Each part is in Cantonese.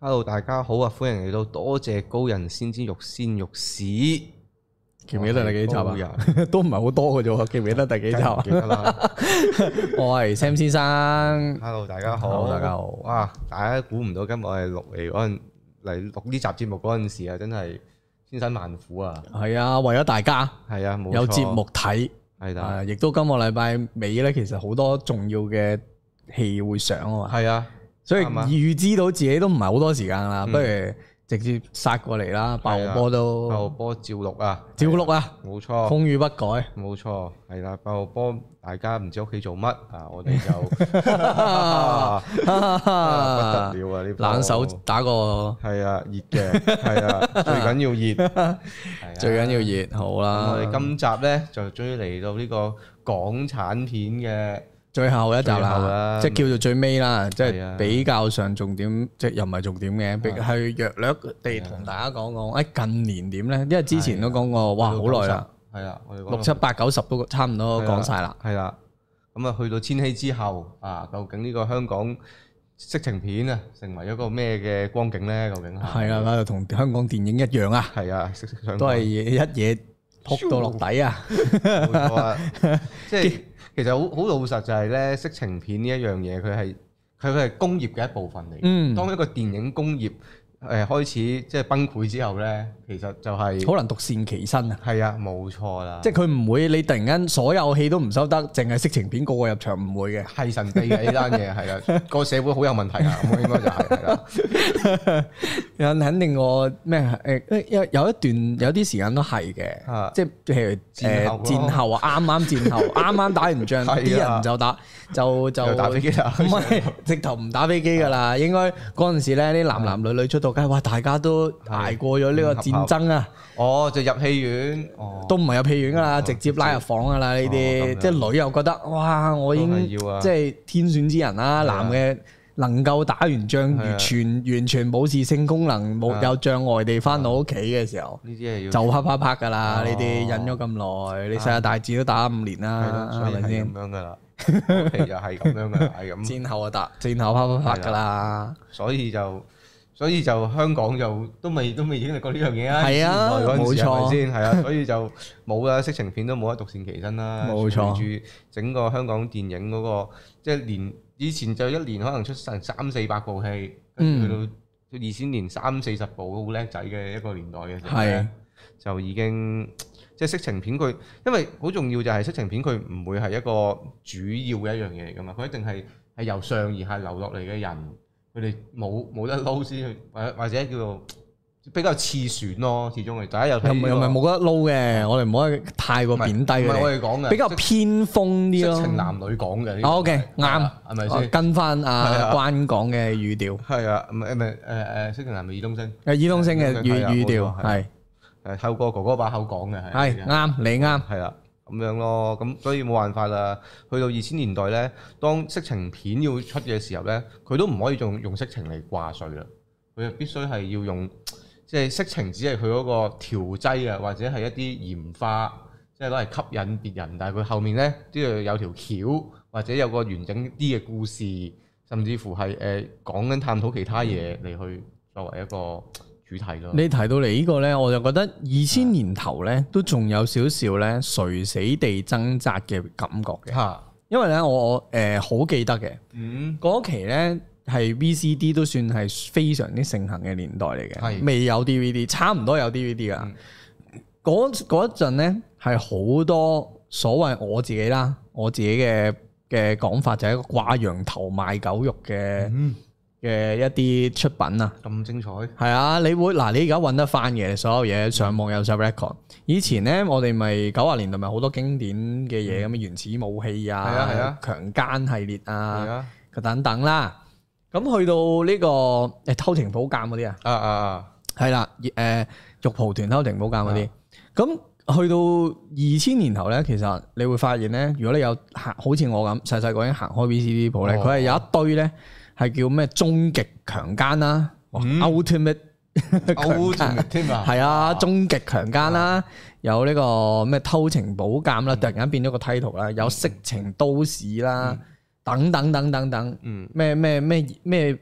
Hello， 大家好啊！歡迎嚟到多謝高人先知肉鮮肉屎， 記唔記得第幾集啊？都唔係好多嘅啫，記唔記得第幾集啊？ 記得啦。 我係 Sam 先生。 Hello， 大家好。 Hello， 大家好。 哇！大家估唔到今日我哋嚟錄呢集節目嗰陣時啊，真係千辛萬苦啊！係啊，為咗大家。 係啊，冇錯。 有節目睇。係啦。亦都今個禮拜尾咧，其實好多重要嘅戲會上啊嘛。係啊。所以預知到自己都唔係好多時間啦，不如直接殺過嚟啦！爆波都爆波照錄啊！ 照錄啊！冇錯，風雨不改。 冇錯，係啦！爆波大家唔知屋企做乜啊？我哋就不得了啊！呢冷手打個係啊，熱嘅係啊，最緊要熱， 最緊要熱好啦！ 我哋今集咧就終於嚟到呢個港產片嘅最後一集啦，即係叫做最尾啦，即係比較上重點，即係又唔係重點嘅，係略略地同大家講講，誒近年點咧？因為之前都講過，哇好耐啦，係啊，6、7、8、9、10都差唔多講晒啦， 係啦，咁啊去到千禧之後啊，究竟呢個香港色情片啊，成為一個咩嘅光景咧？究竟係啊，就同香港電影一樣啊， 係啊， 都係一嘢撲到落底啊， 冇錯啊，即係。其實好老實就係咧，色情片呢一樣嘢，佢係工業嘅一部分嚟。當一個電影工業開始即係崩潰之後咧，其實就係好難獨善其身啊。係啊， 冇錯啦。 即係佢唔會你突然間所有戲都唔收得，淨係色情片個個入場唔會嘅， 係神秘嘅呢單嘢係啦。個社會好有問題啊，咁應該就係啦。 肯定我咩有一段有啲時間都係嘅，即係譬如戰後啊，啱戰後，啱啱打完仗，啲人就打飛機啦， 唔係直頭唔打飛機噶啦。應該嗰陣時咧，啲男女女出到街，哇！大家都捱過咗呢個戰爭啊！ 哦，就入戲院， 都唔係入戲院噶啦，直接拉入房噶啦。呢啲即係女又覺得哇，我已經即係天選之人啦，男嘅。能夠打完仗完全冇事性功能冇有障礙地翻到屋企嘅時候，就啪啪啪噶啦！呢啲忍咗咁耐，你世界大戰都打5年啦，係咪先？ 咁樣噶啦，其實係咁樣噶，係咁。 戰後啊戰後啪啪啪噶啦， 所以就香港就都未經歷過呢樣嘢啊！ 係啊，冇錯先係啊，所以就冇啦，色情片都冇得獨善其身啦。 冇錯， 隨住整個香港電影嗰個即係以前就一年可能出成300-400部戲，跟住去到2000年30-40部好叻仔嘅一個年代嘅時候咧，就已經即係色情片佢，因為好重要就係色情片佢唔會係一個主要嘅一樣嘢嚟㗎嘛，佢一定係由上而下流落嚟嘅人，佢哋冇得撈先去，或者叫做比較次選咯，始終係大家有睇又唔係冇得撈嘅，我哋唔可以太過貶低佢哋。唔係我哋講嘅， 比較偏鋒啲咯。 色情男女講嘅。 OK，啱， 係咪先？ 跟翻阿關講嘅語調。係啊，唔係色情男女爾冬陞。 爾冬陞嘅語調係透過哥哥把口講嘅係啱，你啱。 係啦，咁樣咯，咁所以冇辦法啦。去到2000年代咧，當色情片要出嘅時候咧，佢都唔可以用色情嚟掛帥啦，佢必須係要用。即係色情只係佢嗰個調劑啊，或者係一啲鹽花，即係攞嚟吸引別人。但係佢後面咧都要有條橋，或者有個完整啲嘅故事，甚至乎係講緊探討其他嘢嚟去作為一個主題咯。你提到嚟呢個咧，我就覺得2000年頭咧都仲有少少咧垂死地掙扎嘅感覺嘅。因為咧我好記得嘅，嗰期咧。係 VCD 都算係非常之盛行嘅年代嚟嘅，未有 DVD， 差唔多有 DVD 噶。嗰一陣咧係好多所謂我自己嘅講法就係一個掛羊頭賣狗肉嘅一啲出品啊。咁精彩係啊！你而家揾得翻嘅所有嘢，上網有晒 record。以前咧我哋咪90年代咪好多經典嘅嘢咁，原始武器啊，強姦系列啊，等等啦。咁去到呢個偷情寶鑑嗰啲係啦，玉蒲團偷情寶鑑嗰啲，咁去到2000年頭咧，其實你會發現咧，如果你有好似我咁細細個已經行開 VCD 鋪咧，佢係有一堆咧係叫咩終極強姦啦，Ultimate 添啊，係啊，終極強姦啦，有呢個咩偷情寶鑑啦，突然間變咗個 title 啦，有色情都市啦。等等，咩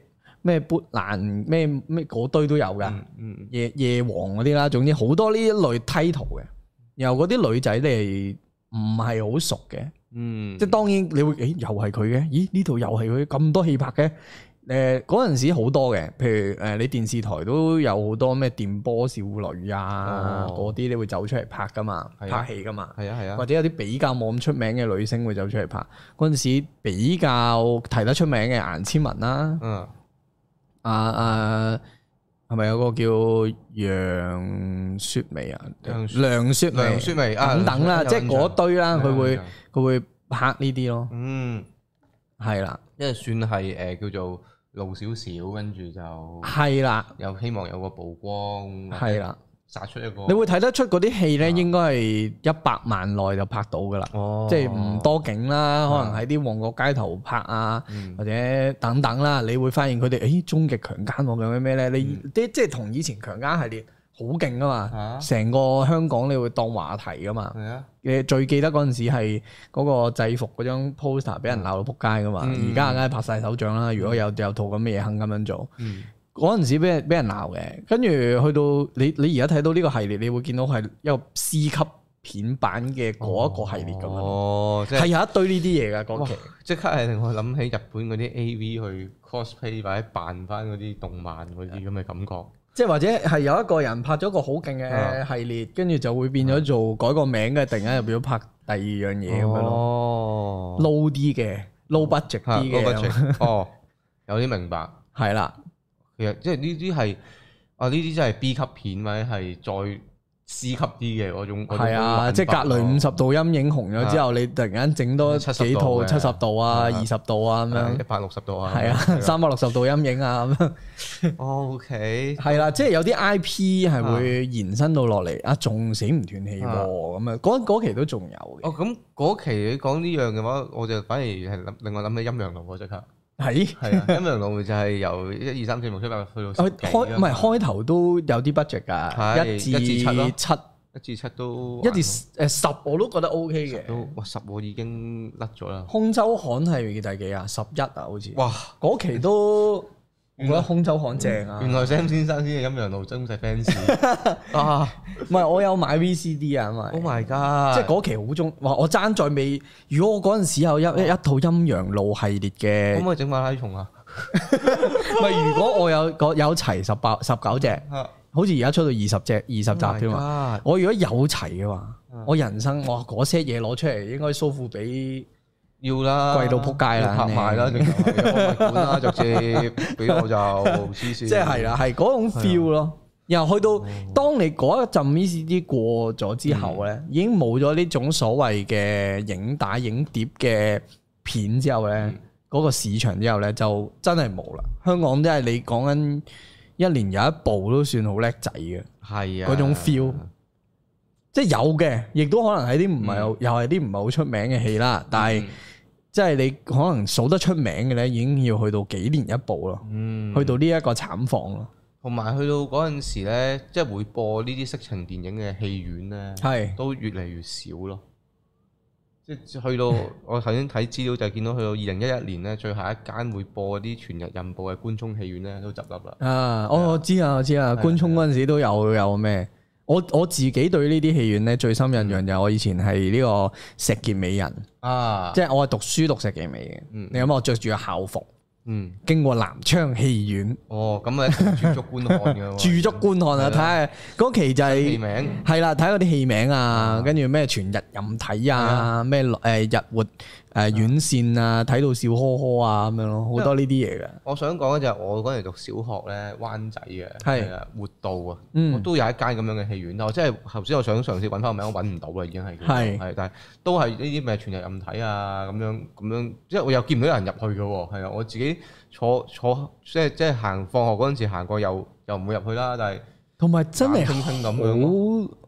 咩砵蘭咩嗰堆都有㗎，夜王嗰啲啦，總之好多呢一類 title 嘅，然後嗰啲女仔你唔係好熟嘅，即係當然你會又係佢嘅，咦呢度又係佢咁多戲拍嘅。嗰陣時好多嘅，譬如你電視台都有好多咩電波少女啊，嗰啲你會走出嚟拍噶嘛，拍戲噶嘛，或者有啲比較冇咁出名嘅女星會走出嚟拍。嗰陣時比較提得出名嘅顏千文啦，係咪有個叫楊雪薇啊、梁雪薇等等啦，即係嗰堆啦，佢會拍呢啲咯。係啦， 因為算係叫做露少少，跟住就係啦， 又希望有個曝光， 係啦， 殺出一個。 你會睇得出嗰啲戲咧，應該係100萬內就拍到噶啦，即係唔多景啦，可能喺啲旺角街頭拍啊，或者等等啦，你會發現佢哋終極強姦喎，咁咩咧？你即係同以前強姦系列好勁噶嘛，成個香港你會當話題噶嘛。最記得嗰陣時係嗰個制服嗰張 poster 俾人鬧到仆街噶嘛，而家梗係拍晒手掌啦。如果有套咁嘅嘢肯咁樣做，嗰陣時俾人鬧嘅。跟住去到你而家睇到呢個系列，你會見到係一個 C 級片版嘅嗰一個系列咁樣，係有一堆呢啲嘢噶嗰期。 即刻係令我諗起日本嗰啲 AV 去 cosplay 或者扮翻嗰啲動漫嗰啲咁嘅感覺。即係或者係有一個人拍咗個好勁嘅系列，跟住就會變咗做改個名嘅，突然間又變咗拍第二樣嘢咁樣咯。low 啲嘅，low budget 啲嘅。 有啲明白。係啦，其實即係呢啲係呢啲真係 B 級片或者係再 C 級啲嘅嗰種。係啊，即係格雷50度陰影紅咗之後，你突然間整多幾套70度啊、20度啊咁樣，160度啊，係啊，360度陰影啊咁樣。OK，係啦，即係有啲 IP 係會延伸到落嚟，仲死唔斷氣喎咁啊！嗰期都仲有嘅。咁嗰期你講呢樣嘅話，我就反而係令我諗起陰陽路喎，即刻。係啊，陰陽路就係由1、2、3、4、5、6、7、8去到10幾。唔係開頭都有啲 budget 㗎，1至7都1至10我都覺得 OK 嘅。10我已經甩咗啦。空州巷係第幾啊？11啊，好似。哇！嗰期都我覺得空州巷正啊。原來 Sam 先生先係陰陽路真係 fans 啊！唔係我有買 VCD 啊，因為 Oh my God！即係嗰期好中，哇！我爭在未。如果我嗰陣時有一套陰陽路系列嘅，可唔可以整馬拉松啊？唔係，如果我有齊19隻，好似而家出到20集添嘛。我如果有齊嘅話，我人生哇嗰些嘢攞出嚟，應該蘇富比要啦，貴到撲街啦，拍賣啦，管啦，直接俾我就黐線。即係啦，係嗰種 feel 咯。然後去到當你嗰一陣 VCD 過咗之後咧，已經冇咗呢種所謂嘅影帶影碟嘅片之後咧，嗰個市場之後咧就真係冇啦。香港真係你講緊一年有一部都算好叻仔嘅，係啊，嗰種 feel，即係有嘅，亦都可能係啲唔係又係啲唔係好出名嘅戲啦。但係即係你可能數得出名嘅咧，已經要去到幾年一部咯，去到呢一個慘況咯。同埋去到嗰陣時咧，即係會播呢啲色情電影嘅戲院咧，都越嚟越少咯。即係去到我頭先睇資料就見到去到2011年咧，最後一間會播啲全日任播嘅官涌戲院咧都執笠啦。啊，我知啊，官涌嗰陣時都有咩？我自己對呢啲戲院咧最深印象就係我以前係呢個石硤尾人啊，即係我係讀書讀石硤尾嘅。你諗我着住個校服。經過南昌戲院，咁啊駐足觀看嘅，駐足觀看啊！睇下嗰期就係戲名，係啦，睇嗰啲戲名啊，跟住咩全日任睇啊，咩日活院線啊，睇到笑呵呵啊咁樣咯，好多呢啲嘢嘅。我想講嘅就係我嗰陣讀小學咧，灣仔嘅係啊活道啊，我都有一間咁樣嘅戲院，但係即係頭先我想嘗試揾翻個名，我揾唔到啦，已經係係，但係都係呢啲咩全日任睇啊咁樣，即係我又見唔到有人入去嘅喎，係啊，我自己坐即係行放學嗰陣時行過又唔會入去啦，但係同埋真係輕輕咁樣。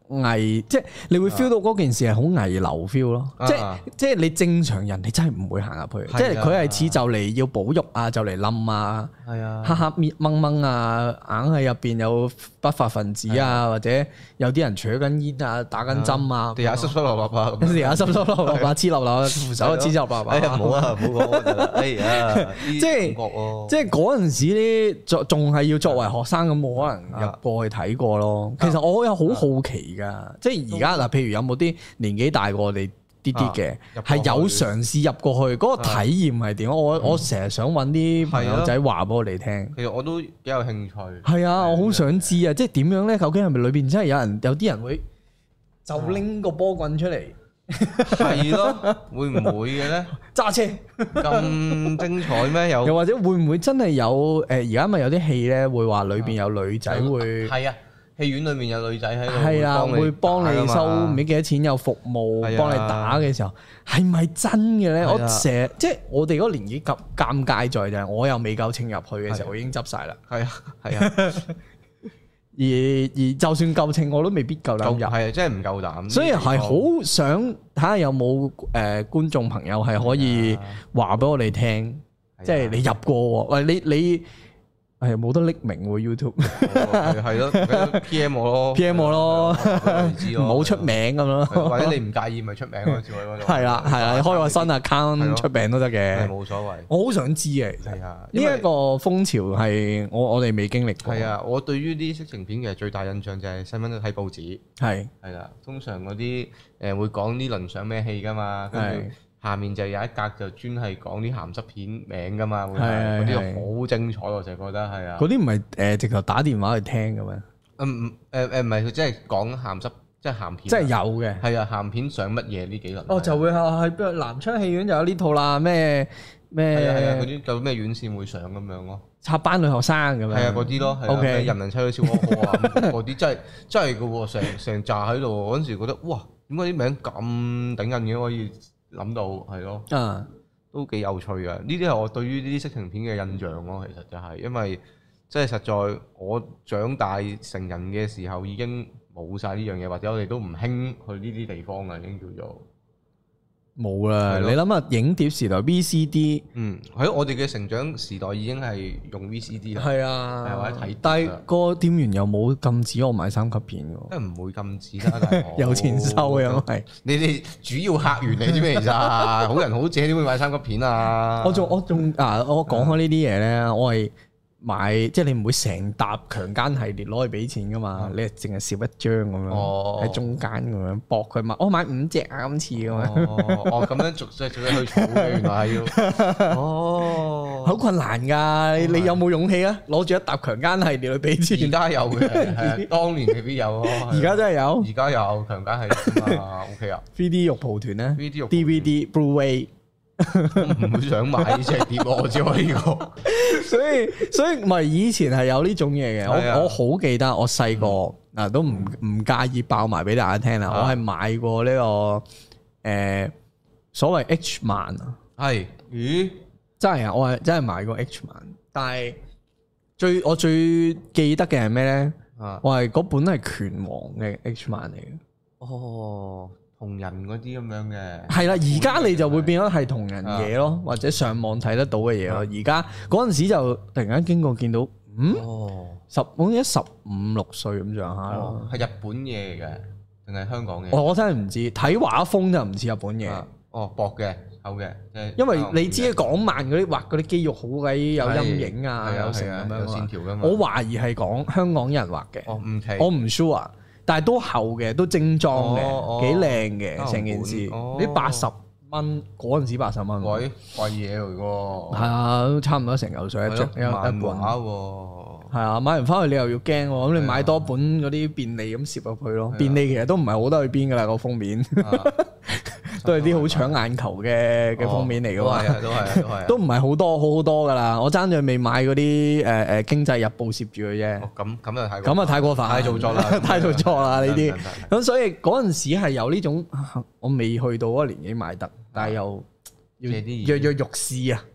即係你會 feel 到嗰件事係好危樓 feel 咯，即係你正常人你真係唔會行入去，即係佢係似就嚟要保育啊，就嚟冧啊，黑黑掹掹啊，硬係入邊有不法分子啊，或者有啲人搶緊煙啊，打緊針啊， 地下濕濕落落啊， 地下濕濕落落啊，黐落落，扶手黐濕落落。 哎呀，唔好啊，唔好講，哎呀， 即係嗰陣時咧，仲係要作為學生咁，冇可能入過去睇過咯。其實我有好好奇噶，即係而家嗱，譬如有冇啲年紀大過我哋啲嘅，係有嘗試入過去，嗰個體驗係點？我成日想揾啲朋友仔話俾我哋聽。 其實我都幾有興趣。係啊，我好想知啊，即係點樣咧？究竟係咪裏邊真係有啲人會就拎個波棍出嚟？ 係咯，會唔會嘅咧？ 揸車咁精彩咩？又或者會唔會真係有？而家咪有啲戲咧，會話裏邊有女仔會係啊。戲院裏面有女仔喺度， 係啊，會幫你收唔知幾多錢，有服務幫你打嘅時候，係咪真嘅咧？我成日即係我哋嗰個年紀尷尬在就係我又未夠稱入去嘅時候，我已經執晒啦。係啊，係啊。而就算夠稱，我都未必夠膽入。 係啊，真係唔夠膽。 所以係好想睇下有冇觀眾朋友係可以話俾我哋聽，即係你入過喎，喂你。係冇得匿名喎 YouTube， 係咯，PM 我咯 ，PM 我咯，唔好出名咁咯， 或者你唔介意咪出名咯，照喺嗰度。係啦，你開個新 account 出名都得嘅， 冇所謂。我好想知嘅， 係啊， 呢一個風潮係我哋未經歷過。 係啊，我對於啲色情片嘅最大印象就係細蚊仔睇報紙，係啦，通常嗰啲會講呢輪上咩戲㗎嘛，跟住。下面就有一格就專係講啲鹹濕片名㗎嘛，嗰啲好精彩，我就覺得係啊。 嗰啲唔係直頭打電話去聽嘅咩？ 唔係，佢即係講鹹濕，即係鹹片。即係有嘅。係啊，鹹片上乜嘢呢幾輪？ 哦，就會係南昌戲院就有呢套啦，咩？係啊，嗰啲就咩院線會上咁樣咯。 插班女學生咁樣。係啊，嗰啲咯。O K。人人妻都超可可啊！嗰啲真係嘅喎，成扎喺度嗰陣時覺得哇，點解啲名咁頂人嘅可以？諗到係咯，都幾有趣嘅。呢啲係我對於呢啲色情片嘅印象咯。其實就係因為即係實在我長大成人嘅時候已經冇晒呢樣嘢，或者我哋都唔興去呢啲地方啦，已經叫做冇啦。你諗下影碟時代 VCD，係咯，我哋嘅成長時代已經係用 VCD 啦。係啊，或者睇，但係個店員又冇禁止我買三級片嘅，即係唔會禁止啦。有錢收嘅，係你哋主要客源嚟啫咩？其實好人好姐點會買三級片啊？我仲我講開呢啲嘢咧，我係。買即係你唔會成沓強姦系列攞去俾錢噶嘛？你係淨係攝一張咁樣喺中間咁樣搏佢買，我買5隻啊今次咁樣。咁樣逐隻去儲嘅，原來係要好困難㗎。你有冇勇氣啊？攞住一沓強姦系列去俾錢？而家有嘅，當年未必有咯。而家真係有，而家有強姦系列啊 OK 啊。3D 肉蒲團咧，DVD Blu-ray。唔會想買呢隻碟，我只可以講。所以唔係以前係有呢種嘢嘅。我好記得我細個嗱都唔介意爆埋俾大家聽啦。我係買過呢個所謂 H 漫啊。係咦？真係啊！我係真係買過 H 漫，但係我最記得嘅係咩咧？我係嗰本係拳王嘅 H 漫嚟嘅。哦。同人嗰啲咁樣嘅係啦，而家你就會變咗係同人嘢咯，或者上網睇得到嘅嘢咯。而家嗰陣時就突然間經過見到，好似15、16歲咁上下咯。係日本嘢嚟嘅定係香港嘅？我真係唔知，睇畫風就唔似日本嘢。薄嘅厚嘅，因為你知港漫嗰啲畫嗰啲肌肉好鬼有陰影啊，有成咁樣有線條㗎嘛。我懷疑係講香港人畫嘅，我唔 sure。但係都厚嘅，都精裝嘅，幾靚嘅成件事。你80蚊嗰陣時80蚊，貴嘢嚟喎。係啊，都差唔多成嚿水一張一本。係啊，買完翻去你又要驚喎，咁你買多本嗰啲便利咁攝入去咯。便利其實都唔係好得去邊㗎啦，個封面。都係啲好搶眼球嘅封面嚟㗎嘛，都唔係好多好多㗎啦。我爭住未買嗰啲經濟日報攝住佢啫。咁啊太過分，太做作啦，太做作啦呢啲。咁所以嗰陣時係有呢種，我未去到嗰個年紀買得，但係又要躍躍欲試啊。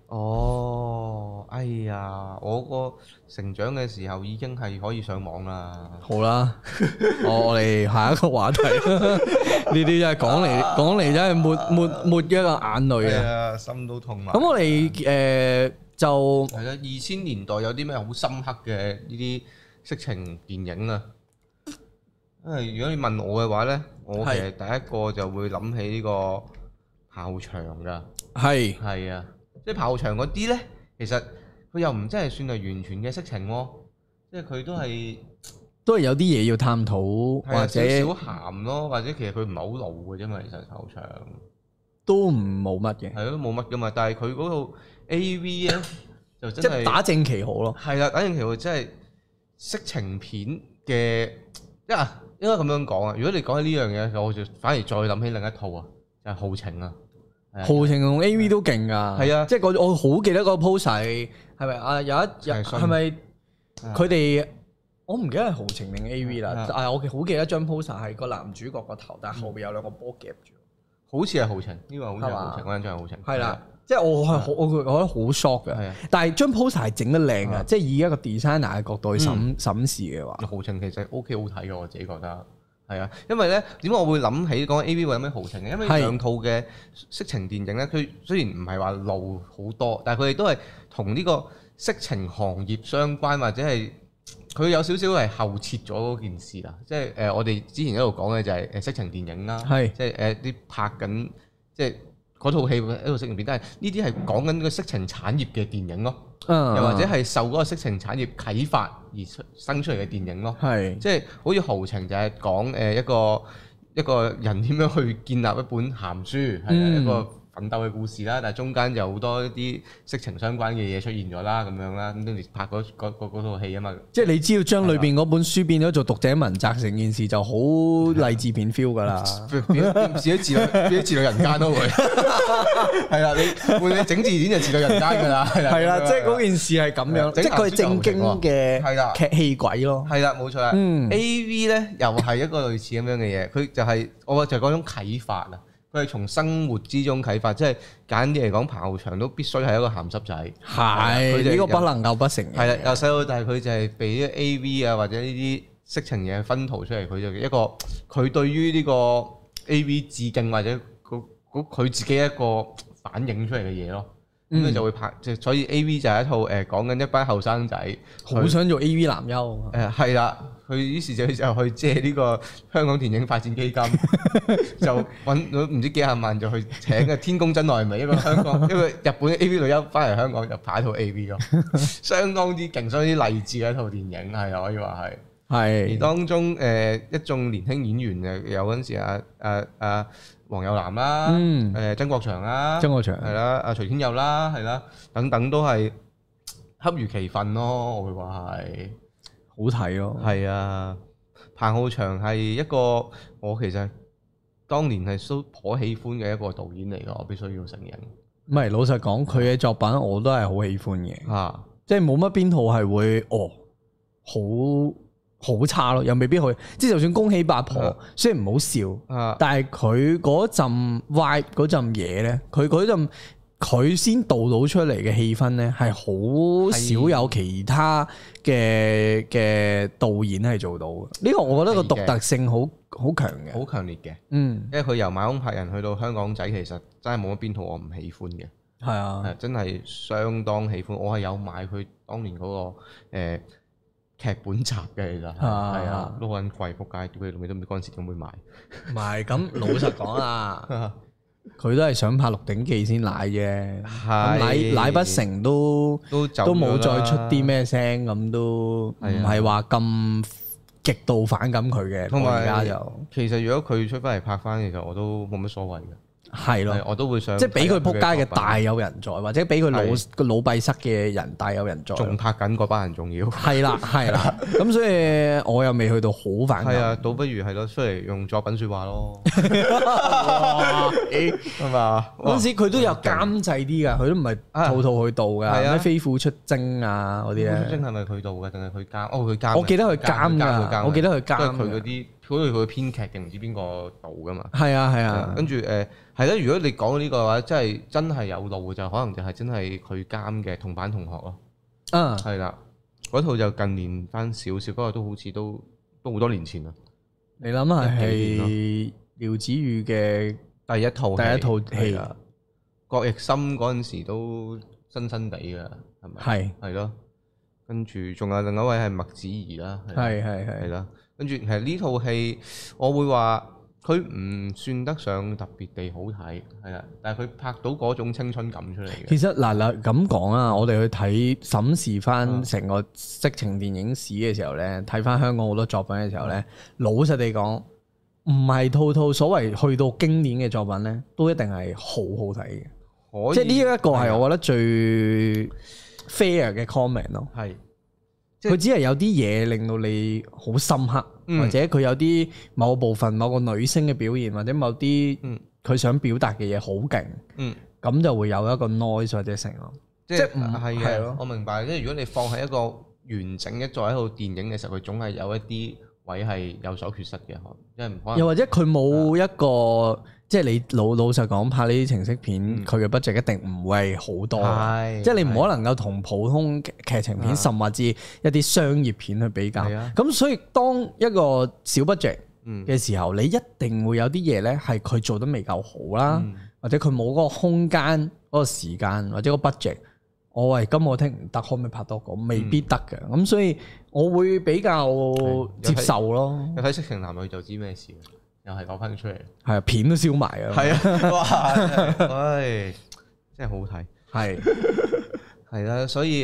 哦，哎呀，我個成長嘅時候已經係可以上網啦。 好啦，我哋下一個話題，呢啲真係講嚟真係抹一個眼淚啊， 心都痛埋。 咁我哋就係啦，2000年代有啲咩好深刻嘅呢啲色情電影啊？因為如果你問我嘅話咧，我其實第一個就會諗起呢個炮場㗎。係啊。即係炮場嗰啲咧，其實佢又唔真係算係完全嘅色情喎，即係佢都係有啲嘢要探討，或者少鹹咯，或者其實佢唔係好露嘅啫嘛，其實炮場都冇乜嘅，係咯冇乜噶嘛，但係佢嗰套 AV 咧就真係即係打正旗號咯，係啦，打正旗號真係色情片嘅，應該咁樣講啊！如果你講起呢樣嘢，我就反而再諗起另一套啊，就係豪情啊。豪情同 A.V. 都勁噶，係啊，即係我好記得個 poster 係咪啊？有一日係咪佢哋？我唔記得係豪情定 A.V. 啦，但係我好記得張 poster 係個男主角個頭，但係後邊有兩個波夾住，好似係豪情，呢個好似係豪情，嗰張係豪情，係啦，即係我覺得好 shock 嘅，但係張 poster 係整得靚嘅，即係以一個 designer 嘅角度去審視嘅話，豪情其實 O.K. 好睇嘅，我自己覺得。係啊，因為咧點解我會諗起講 A.V. 會有咩豪情嘅？因為兩套嘅色情電影咧，佢雖然唔係話露好多，但係佢哋都係同呢個色情行業相關，或者係佢有少少係後設咗嗰件事啦。即係我哋之前一路講嘅就係色情電影啦，即係啲拍緊即係嗰套戲一套色情片，但係呢啲係講緊個色情產業嘅電影咯。又或者係受嗰個色情產業啟發而生出嚟嘅電影咯，即係好似豪情就係講一個人點樣去建立一本鹹書，係一個奮鬥嘅故事啦。但係中間有好多一啲色情相關嘅嘢出現咗啦，咁樣啦，咁跟住拍嗰套戲啊嘛。即係你只要將裏邊嗰本書變咗做讀者文摘，成件事就好勵志片 feel 㗎啦，變咗自律人間都會。係啦，你整字典就自律人間㗎啦。係啦，即係嗰件事係咁樣，即係佢係正經嘅劇戲鬼咯。係啦，冇錯啦。AV 咧又係一個類似咁樣嘅嘢，佢就係我就係嗰種啟發啊。佢係從生活之中啟發，即係簡單啲嚟講，炮場都必須係一個鹹濕仔。係，呢個不能夠不承認。係啦，由細到大佢就係被啲 AV 啊或者呢啲色情嘢薰陶出嚟，佢就一個佢對於呢個 AV 致敬或者佢自己一個反映出嚟嘅嘢咯。咁佢就會拍，所以 A.V. 就係一套講緊一班後生仔好想做 A.V. 男優。係啦，佢於是就去借呢個香港電影發展基金，就揾到唔知幾廿萬就去請嘅天公真愛美一個香港一個日本嘅 A.V. 女優翻嚟香港就拍一套 A.V. 咯，相當之勁，相當之勵志嘅一套電影係可以話係。係而當中一眾年輕演員有嗰陣時黃又南啦，曾國祥啦，係啦，阿徐天佑啦，係啦，等等都係恰如其分咯，我會話係好睇咯。係啊，彭浩翔係一個我其實當年係都頗喜歡嘅一個導演嚟㗎，我必須要承認。唔係，老實講，佢嘅作品我都係好喜歡嘅，即係冇乜邊套係會好差咯，又未必去，即係就算恭喜八婆，雖然唔好笑，但係佢嗰陣 vibe 嗰陣嘢咧，佢嗰陣佢先導到出嚟嘅氣氛咧，係好少有其他嘅導演係做到嘅。呢個我覺得個獨特性好強嘅，好強烈嘅。因為佢由買兇拍人去到香港仔，其實真係冇乜邊套我唔喜歡嘅。係啊，真係相當喜歡。我係有買佢當年嗰個劇本集嘅，其實係啊，都好撚貴，仆街，屌佢老味都唔知嗰陣時點會買。唔係咁老實講啊，佢都係想拍《鹿鼎記》先奶啫，奶不成都冇再出啲咩聲，咁都唔係話咁極度反感佢嘅。同埋而家就其實如果佢出翻嚟拍翻，其實我都冇乜所謂嘅。係咯，我都會想即係俾佢撲街嘅大有人在，或者俾佢老閉塞嘅人大有人在，仲拍緊嗰班人仲要。係啦，咁所以我又未去到好反感。係啊，倒不如係咯，出嚟用作品説話咯。係嘛？嗰陣時佢都有監製啲㗎，佢都唔係套套去導㗎。咩飛虎出征啊嗰啲咧？出征係咪佢導嘅定係佢監？佢監。我記得佢監㗎，我記得佢監。佢嗰啲佢嘅編劇定唔知邊個導噶嘛？ 係啊。 跟住係啦，如果你講呢個嘅話，真係有路就可能就係真係佢監嘅同班同學咯。係啦，嗰套就近年翻少少，不過都好似都好多年前啦。 你諗下係廖子妤嘅第一套戲啊， 郭奕森嗰陣時都新新地㗎，係咪？係咯。跟住仲有另一位係麥子怡啦，係啦。跟住其實呢套戲，我會話佢唔算得上特別地好睇，係啦。但係佢拍到嗰種青春感出嚟嘅。其實嗱咁講啊，我哋去睇審視翻成個色情電影史嘅時候咧，睇翻香港好多作品嘅時候咧，老實地講，唔係套所謂去到經典嘅作品咧，都一定係好好睇嘅。即係呢一個係我覺得最 fair 嘅 comment 咯，係，佢只係有啲嘢令到你好深刻，或者佢有啲某部分某個女星嘅表現，或者某啲佢想表達嘅嘢好勁，咁就會有一個 noise 或者成咯，即係係嘅， 我明白。即係如果你放喺一個完整一座喺套電影嘅時候，佢總係有一啲位係有所缺失嘅，即係唔可能。 又或者佢冇一個。即係你老實講，拍呢啲情色片，佢嘅 budget 一定唔會好多。即係你唔可能夠同普通劇情片，甚至一啲商業片去比較。咁所以當一個小 budget 嘅時候，你一定會有啲嘢咧係佢做得未夠好啦，或者佢冇嗰個空間、嗰個時間或者個 budget。我今我聽唔得，可唔可以拍多個？未必得嘅。咁所以我會比較接受咯。 你睇色情男女就知咩事。又係攞翻出嚟， 係啊，片都燒埋啊， 係啊，哇，唉，真係好睇，係啦，所以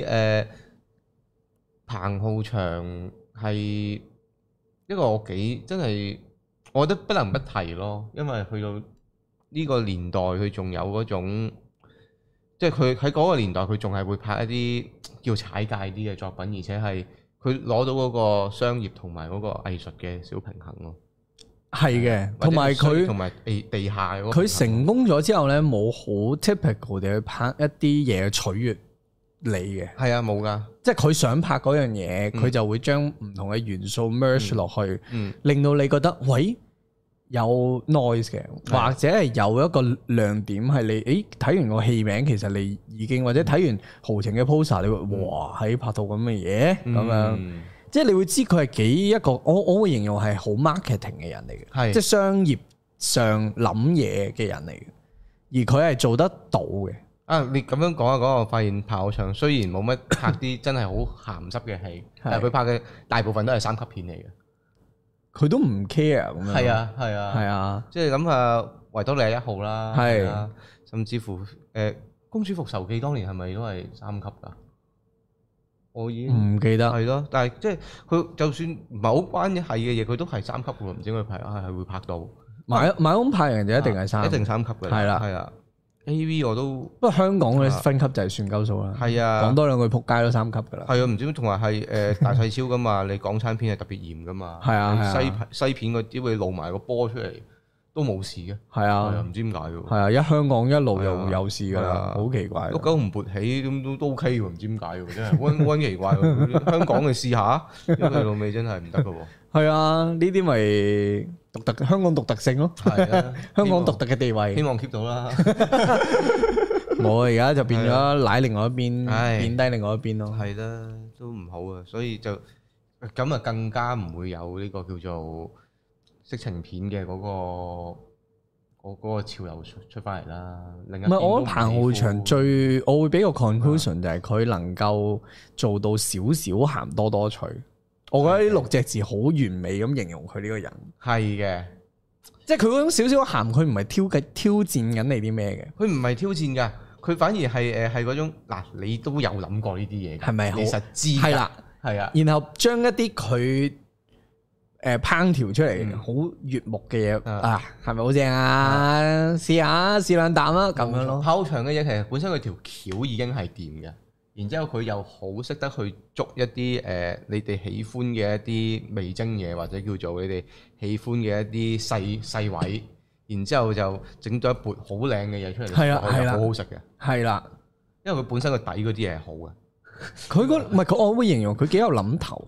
彭浩翔係一個我真係，我覺得不能不提咯，因為去到呢個年代，佢仲有嗰種，即係佢喺嗰個年代，佢仲係會拍一啲叫踩界啲嘅作品，而且係佢攞到嗰個商業同埋嗰個藝術嘅小平衡咯。 係嘅，同埋佢同埋地下嗰個， 佢成功咗之後咧，冇好 typical 地去拍一啲嘢取悅你嘅。係啊，冇噶，即係佢想拍嗰樣嘢，佢就會將唔同嘅元素 merge 落去，令到你覺得喂有 noise 嘅，或者係有一個亮點係你睇完個戲名，其實你已經或者睇完豪情嘅 poster，你會哇喺拍到咁嘅嘢咁樣。即係你會知佢係幾一個，我會形容係好 marketing 嘅人嚟嘅，即係商業上諗嘢嘅人嚟嘅，而佢係做得到嘅。 你咁樣講一講，我發現彭浩翔雖然冇乜拍啲真係好鹹濕嘅戲，但係佢拍嘅大部分都係三級片嚟嘅，佢都唔 care 咁樣。 係啊，即係諗下維多利亞1號啦，甚至乎公主復仇記當年係咪都係3級㗎？我已經唔記得，係咯，但係即係佢就算唔係好關係嘅嘢，佢都係3級嘅喎，唔知佢拍係會拍到。 買屋拍人就一定係3， 一定3級嘅。係啦，AV 我都不過香港嗰啲分級就係算鳩數啦。係啊，講多兩句撲街都3級㗎啦。 係啊，唔知同埋係大細超㗎嘛？你港產片係特別嚴㗎嘛？係啊，西片嗰啲會露埋個波出嚟。都冇事嘅，係啊，唔知點解嘅喎。係啊，香港一路又有事㗎啦，好奇怪。碌九唔勃起咁都 OK 喎，唔知點解喎，真係溫奇怪。香港嘅試下，因為老味真係唔得嘅喎。係啊，呢啲咪獨特香港獨特性咯。係啊，香港獨特嘅地位，希望 keep 到啦。冇啊，而家就變咗舐另外一邊，貶低另外一邊咯。係啦，都唔好啊，所以就咁啊，更加唔會有呢個叫做色情片嘅嗰個潮流出翻嚟啦。唔係，我覺得彭浩翔我會俾個 conclusion 就係佢能夠做到少少鹹多多趣。我覺得呢6隻字好完美咁形容佢呢個人。係嘅，即係佢嗰種少少鹹，佢唔係挑戰緊你啲咩嘅。佢唔係挑戰㗎，佢反而係嗰種嗱，你都有諗過呢啲嘢，係咪？你實知係啦，係啊。然後將一啲佢烹調出嚟好悅目嘅嘢啊，係咪好正啊？試兩啖啦，咁樣咯。跑長嘅嘢其實本身佢條橋已經係掂嘅，然之後佢又好識得去捉一啲你哋喜歡嘅一啲味精嘢，或者叫做你哋喜歡嘅一啲細位，然之後就整咗一盤好靚嘅嘢出嚟，係啦，好好食嘅，係啦，因為佢本身個底嗰啲嘢係好嘅。佢唔係我會形容佢幾有諗頭咯。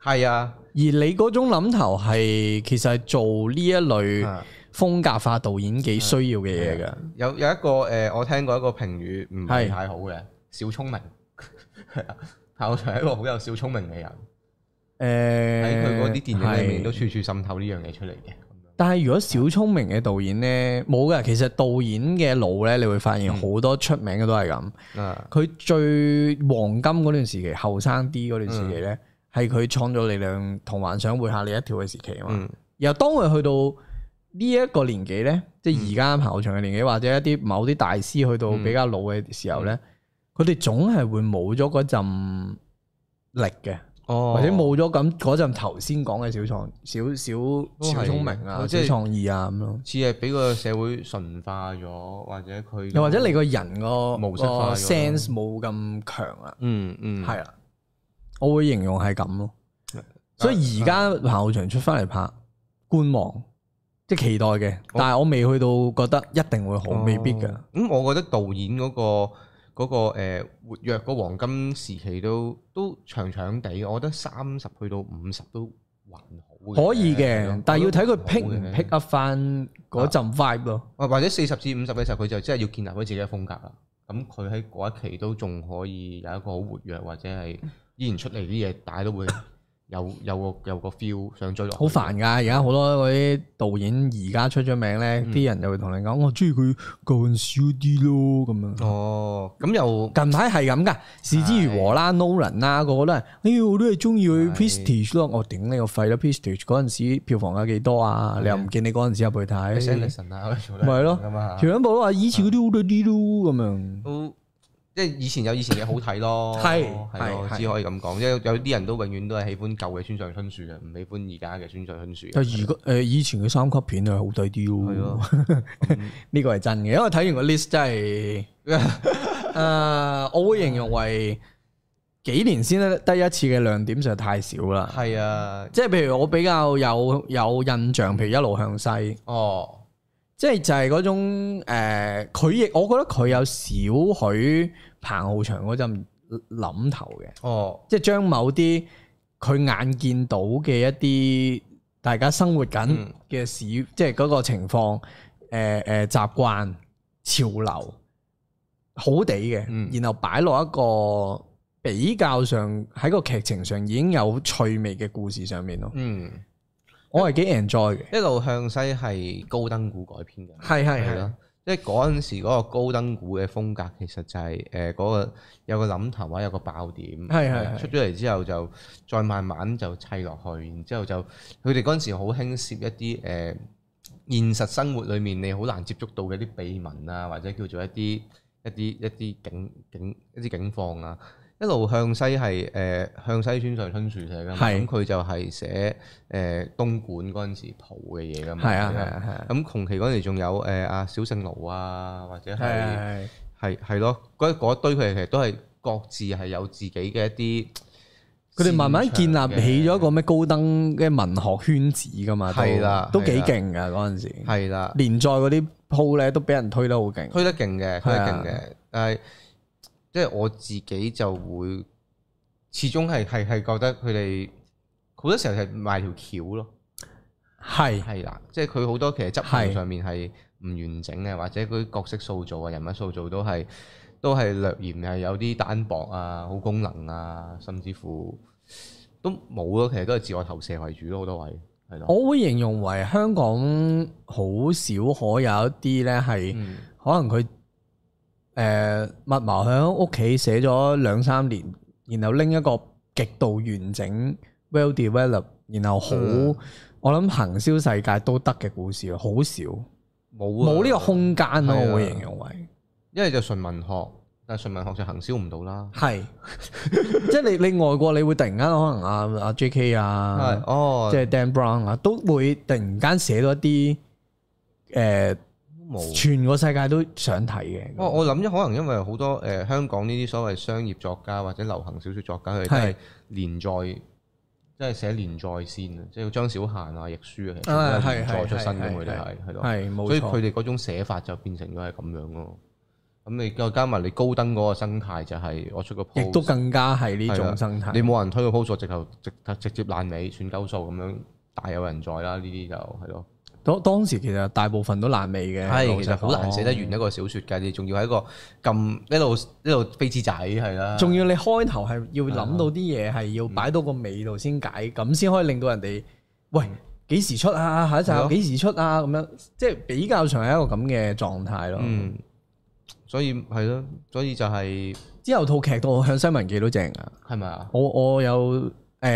係啊， 而你嗰種諗頭係其實係做呢一類風格化導演幾需要嘅嘢㗎。 有一個我聽過一個評語唔係太好嘅，小聰明係啊，彭浩翔係一個好有小聰明嘅人。喺佢嗰啲電影裏面都處處滲透呢樣嘢出嚟嘅。 但係如果小聰明嘅導演咧，冇㗎。其實導演嘅路咧，你會發現好多出名嘅都係咁。佢最黃金嗰段時期，後生啲嗰段時期咧，係佢創造力量同幻想會嚇你一跳嘅時期啊嘛。然後當佢去到呢一個年紀咧，即係而家彭浩翔嘅年紀，或者一啲某啲大師去到比較老嘅時候咧，佢哋總係會冇咗嗰陣力嘅。或者冇咗咁嗰陣頭先講嘅小聰明啊，小創意啊咁咯， 似係俾個社會馴化咗，或者佢又或者你個人個模式化 sense 冇咁強啦。係啊，我會形容係咁咯。所以而家彭浩翔出翻嚟拍觀望，即係期待嘅，但係我未去到覺得一定會好，未必㗎。 咁我覺得導演嗰個活躍嗰黃金時期都長長地，我覺得30去到50都還好嘅。可以嘅，但係要睇佢 pick 唔 pick up 翻嗰陣 vibe 咯。 或者40至50嘅時候，佢就真係要建立佢自己嘅風格啦。咁佢喺嗰一期都仲可以有一個好活躍，或者係依然出嚟啲嘢，大家都會有個 feel 想追落。好煩㗎！而家好多嗰啲導演而家出咗名咧，啲人就會同你講：我中意佢舊陣少啲咯咁樣。 哦，咁又近排係咁㗎，是之如和啦、Nolan 啦，個個都係，我都係中意佢 Prestige 咯。我頂你個肺啦 Prestige 嗰陣時票房有幾多啊？你又唔見你嗰陣時入去睇。 Sanderson 啊， 咪係咯，全部都話以前嗰啲好睇啲咯咁樣。 即係以前有以前嘅好睇咯，係咯，只可以咁講。即係有啲人都永遠都係喜歡舊嘅村上春樹嘅，唔喜歡而家嘅村上春樹。 但如果以前嘅3級片係好睇啲咯，係咯，呢個係真嘅。因為睇完個 list 真係，我會形容為幾年先得一次嘅亮點實在太少啦。係啊，即係譬如我比較有印象，譬如一路向西。哦。即係就係嗰種佢亦我覺得佢有少許彭浩翔嗰陣諗頭嘅。哦，即係將某啲佢眼見到嘅一啲大家生活緊嘅事，即係嗰個情況，習慣潮流好地嘅，然後擺落一個比較上喺個劇情上已經有趣味嘅故事上面咯。我係幾 enjoy 嘅，一路向西係高登谷改編嘅，係咯，即係嗰陣時嗰個高登谷嘅風格其實就係嗰個有個諗頭或者有個爆點，係出咗嚟之後就再慢慢就砌落去，然之後就佢哋嗰陣時好興攝一啲現實生活裡面你好難接觸到嘅啲秘聞啊，或者叫做一啲警況啊。一路向西係向西村上春樹寫㗎嘛，咁佢就係寫東莞嗰陣時蒲嘅嘢㗎嘛，係啊，咁同期嗰陣時仲有阿小聖奴啊，或者係咯，嗰一堆佢哋其實都係各自係有自己嘅一啲，佢哋慢慢建立起咗一個咩高登嘅文學圈子㗎嘛，係啦，都幾勁㗎嗰陣時，係啦，連載嗰啲鋪咧都俾人推得好勁，推得勁嘅，但係。即係我自己就會始終係覺得佢哋好多時候係賣條橋咯，係啦，即係佢好多其實執行上面係唔完整嘅，或者嗰啲角色塑造啊、人物塑造都係略嫌係有啲單薄啊、好功能啊，甚至乎都冇咯，其實都係自我投射為主咯，好多位係咯。我會形容為香港好少可有一啲咧係可能佢。密謀喺屋企寫咗2-3年，然後拎一個極度完整 well develop， 然後好，我諗行銷世界都得嘅故事好少，冇呢個空間咯，我會形容為，因為就純文學，但係純文學就行銷唔到啦。係，即係你外國你會突然間可能阿 JK 啊，即係 Dan Brown 啊，都會突然間寫到一啲全個世界都想睇嘅。我諗可能因為好多香港呢啲所謂商業作家或者流行小說作家，佢哋都係連載，即係寫連載先啊，即係張小嫻啊、亦舒啊，其實都係連載出身嘅，佢哋係咯，所以佢哋嗰種寫法就變成咗係咁樣咯。 咁你再加埋你高登嗰個生態就係我出個 post， 亦都更加係呢種生態。 你冇人推個 post， 直接爛尾算鳩數咁樣，大有人在啦。呢啲就係咯。 當時其實大部分都爛尾嘅， 係其實好難寫得完一個小説㗎，你仲要係一個咁一路飛紙仔係啦。 仲要你開頭係要諗到啲嘢係要擺到個尾度先解，咁先可以令到人哋喂幾時出啊？下一集有幾時出啊？咁樣即係比較上係一個咁嘅狀態咯。 所以係咯，所以就係之後套劇到向西文記都正啊， 係咪啊？ 我有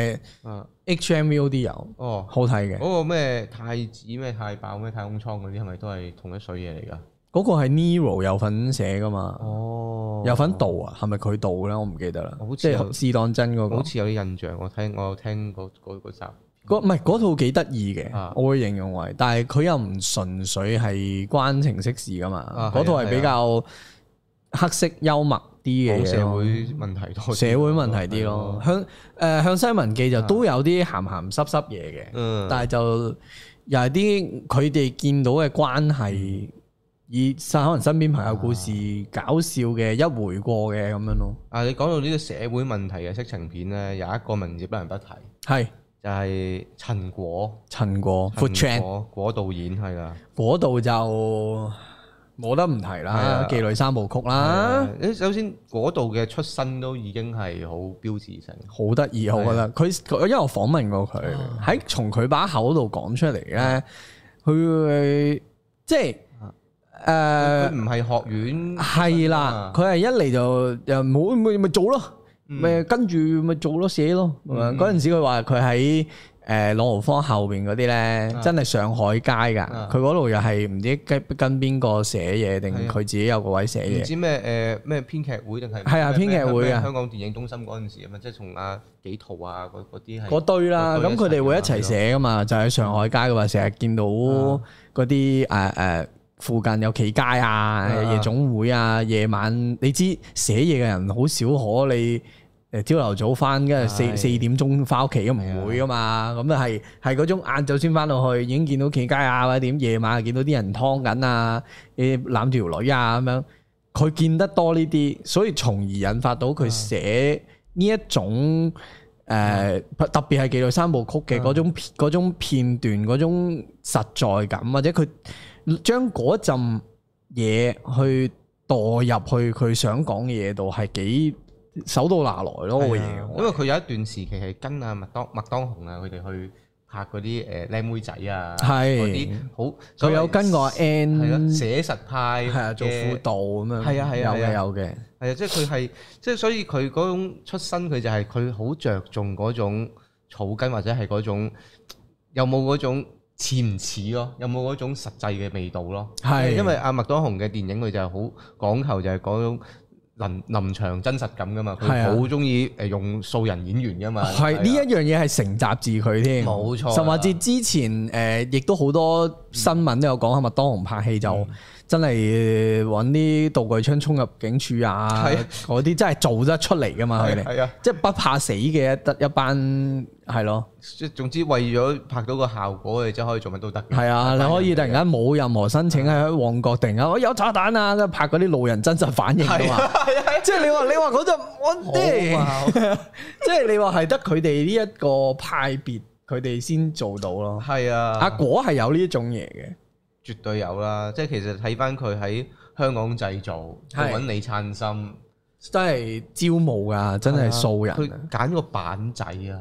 HMVOD 有好睇嘅。 嗰個咩太子咩太爆咩太空艙嗰啲係咪都係同一水嘢嚟㗎？ 嗰個係 Nero 有份寫㗎嘛？有份導啊？係咪佢導咧？我唔記得啦。即係試當真嗰個， 好似有啲印象。我有聽嗰集。 唔係嗰套幾得意嘅，我會形容為，但係佢又唔純粹係關情色事㗎嘛。嗰套係比較黑色幽默啲嘅嘢， 社會問題多， 社會問題啲咯。向西文記就都有啲鹹鹹濕濕嘢嘅，但係就又係啲佢哋見到嘅關係，以可能身邊朋友故事搞笑嘅一回過嘅咁樣咯。 你講到呢個社會問題嘅色情片咧，有一個名字不能不提，係就係陳果，Food Chan 果導演係啦，果導就冇得唔提啦，妓女三部曲啦。首先果導嘅出身都已經係好標誌性，好得意，我覺得佢因為我訪問過佢，喺從佢把口度講出嚟咧，佢即係佢唔係學院係啦，佢係一嚟就又冇咪做咯。咪跟住咪做咯，寫咯。嗰陣時佢話佢喺朗豪坊後邊嗰啲咧，真係上海街㗎。佢嗰度又係唔知跟邊個寫嘢，定佢自己有個位寫嘢。唔知咩編劇會定係？係啊，編劇會啊。香港電影中心嗰陣時啊嘛，即係從幾套啊嗰啲係。嗰堆啦，咁佢哋會一齊寫㗎嘛，就喺上海街嘅話，成日見到嗰啲附近有企街啊、夜總會啊，夜晚你知寫嘢嘅人好少可你。朝頭早翻，跟住四點鐘翻屋企都唔會噶嘛，咁啊係嗰種晏晝先翻到去，已經見到企街啊或者點，夜晚見到啲人劏緊啊，攬住條女啊咁樣，佢見得多呢啲，所以從而引發到佢寫呢一種特別係妓女三部曲嘅嗰種片段嗰種實在感，或者佢將嗰陣嘢去墮入去佢想講嘅嘢度係幾手到拿來咯，個嘢。 因為佢有一段時期係跟麥當雄啊，佢哋去拍嗰啲靚妹仔啊，嗰啲好。 佢有跟過 N 寫實派， 係啊，做輔導咁樣。係啊，有嘅。 係啊，即係佢係，即係所以佢嗰種出身，佢就係佢好着重嗰種草根，或者係嗰種有冇嗰種似唔似咯，有冇嗰種實際嘅味道咯。係，因為阿麥當雄嘅電影佢就係好講求就係嗰種臨場真實感噶嘛，佢好中意用素人演員噶嘛。係呢一樣嘢係承襲自佢添，冇錯。甚至之前亦都好多新聞都有講，麥當雄拍戲就真係揾啲道具槍衝入警署啊，嗰啲真係做得出嚟噶嘛，佢哋即係不怕死嘅一班係咯。即係總之為咗拍到個效果，你真係可以做乜都得。係啊，你可以突然間冇任何申請喺旺角突然間我有炸彈啊，拍嗰啲路人真實反應噶嘛。即係你話嗰陣我即係你話係得佢哋呢一個派別，佢哋先做到咯。係啊，阿果係有呢一種嘢嘅。絕對有啦，即係其實睇翻佢喺香港製造，揾李燦森，真係招募噶，真係素人。佢揀個板仔啊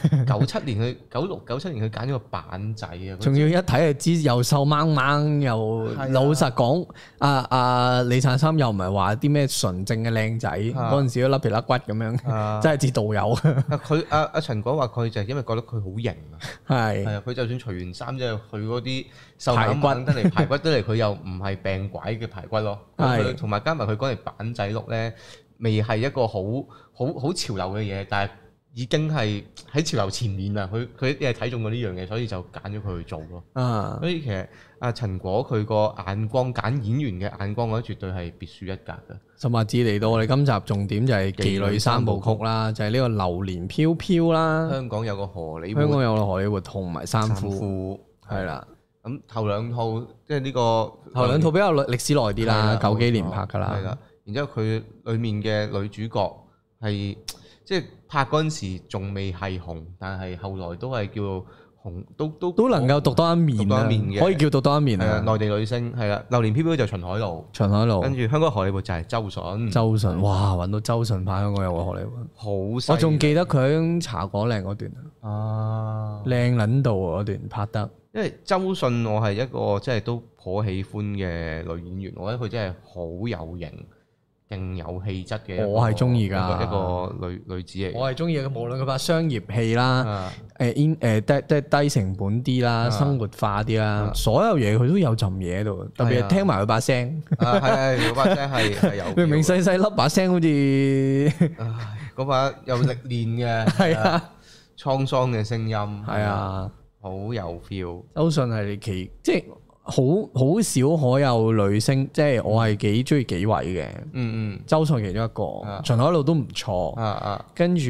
，97年佢96、97年佢揀咗個板仔啊，仲要一睇就知又瘦掹掹又老實講，李燦森又唔係話啲咩純正嘅靚仔，嗰陣時都甩皮甩骨咁樣，真係似導遊。佢阿陳果話佢就係因為覺得佢好型啊，係啊，佢就算除完衫之後，佢嗰啲瘦蜢蜢得嚟排骨得嚟，佢又唔係病鬼嘅排骨咯。係同埋加埋佢嗰條板仔碌咧，未係一個好潮流嘅嘢，但係已經係喺潮流前面啦。佢一係睇中咗呢樣嘢，所以就揀咗佢去做咯。所以其實阿陳果佢個眼光揀演員嘅眼光，我覺得絕對係別樹一格嘅。甚至嚟到我哋今集重點就係妓女三部曲啦，就係呢個榴蓮飄飄啦。香港有個荷里活同埋三夫係啦。 咁頭兩套即係呢個頭兩套比較歷史耐啲啦，90幾年拍㗎啦。 係啦，然之後佢裡面嘅女主角係即係拍嗰陣時仲未係紅，但係後來都係叫紅，都能夠獨當一面嘅，可以叫獨當一面啊！ 內地女星係啦，榴蓮飄飄就秦海璐，跟住香港荷里活就係周迅。哇！揾到周迅拍香港有個荷里活，好！我仲記得佢喺茶果嶺嗰段啊，靚撚到嗰段拍得。因為周迅我係一個即係都頗喜歡嘅女演員，我覺得佢真係好有型。勁有氣質嘅， 我係中意㗎一個女子嚟。 我係中意嘅，無論佢拍商業戲啦，低成本啲啦，生活化啲啦，所有嘢佢都有陣嘢喺度。特別係聽埋佢把聲， 係嗰把聲係有。 明明細細粒把聲，好似嗰把有歷練嘅，係啊，滄桑嘅聲音，係啊，好有 feel。周迅係即係。好少可有女星，即係我係幾中意幾位嘅。周迅其中一個，秦海璐都唔錯。跟住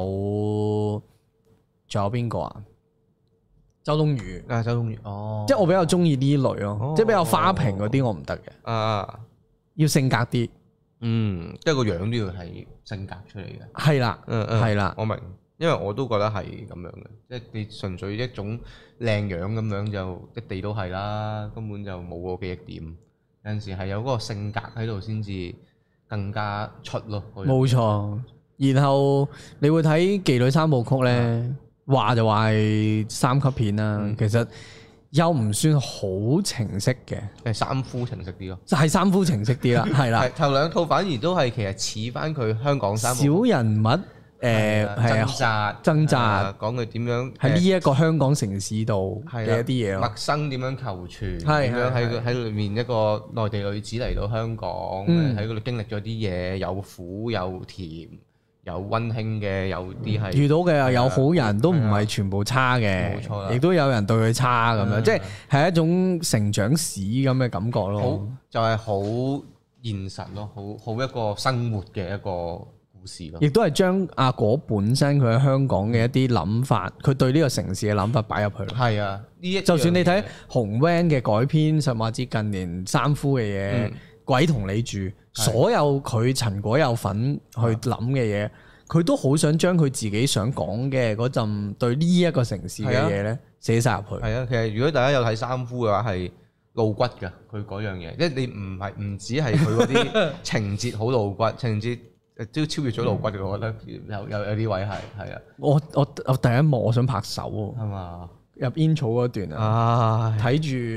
仲有邊個啊？周冬雨。周冬雨。哦。即係我比較中意呢類咯，即係比較花瓶嗰啲我唔得嘅。要性格啲。即係個樣都要係性格出嚟嘅。係啦。係啦。我明。因為我都覺得係咁樣嘅，即係你純粹一種靚樣咁樣就一地都係啦，根本就冇個記憶點。有陣時係有嗰個性格喺度先至更加出咯。 冇錯。然後你會睇《妓女三部曲》咧，話就話係3級片啦，其實又唔算好情色嘅， 係三夫情色啲咯。 係三夫情色啲啦，係啦。 頭兩套反而都係其實似翻佢香港三部小人物。掙扎， 講佢點樣喺呢一個香港城市度嘅一啲嘢， 陌生點樣求存，點樣喺裏面一個內地女子嚟到香港，喺嗰度經歷咗啲嘢，有苦有甜，有溫馨嘅，有啲係遇到嘅有好人都唔係全部差嘅，冇錯，亦都有人對佢差咁樣，即係一種成長史咁嘅感覺咯。好就係好現實咯，好一個生活嘅一個。 亦都係將阿果本身佢喺香港嘅一啲諗法，佢對呢個城市嘅諗法擺入去。 係啊， 就算你睇紅 van 嘅改編，甚至近年三夫嘅嘢，鬼同你住，所有佢陳果有份去諗嘅嘢，佢都好想將佢自己想講嘅嗰陣對呢一個城市嘅嘢咧寫晒入去。 係啊，其實如果大家有睇三夫嘅話，係露骨㗎，佢嗰樣嘢，即係你唔止係佢嗰啲情節好露骨，情節。都超越咗露骨嘅，我覺得有啲位係啊。 我第一幕我想拍手喎，係嘛？入煙草嗰段啊，睇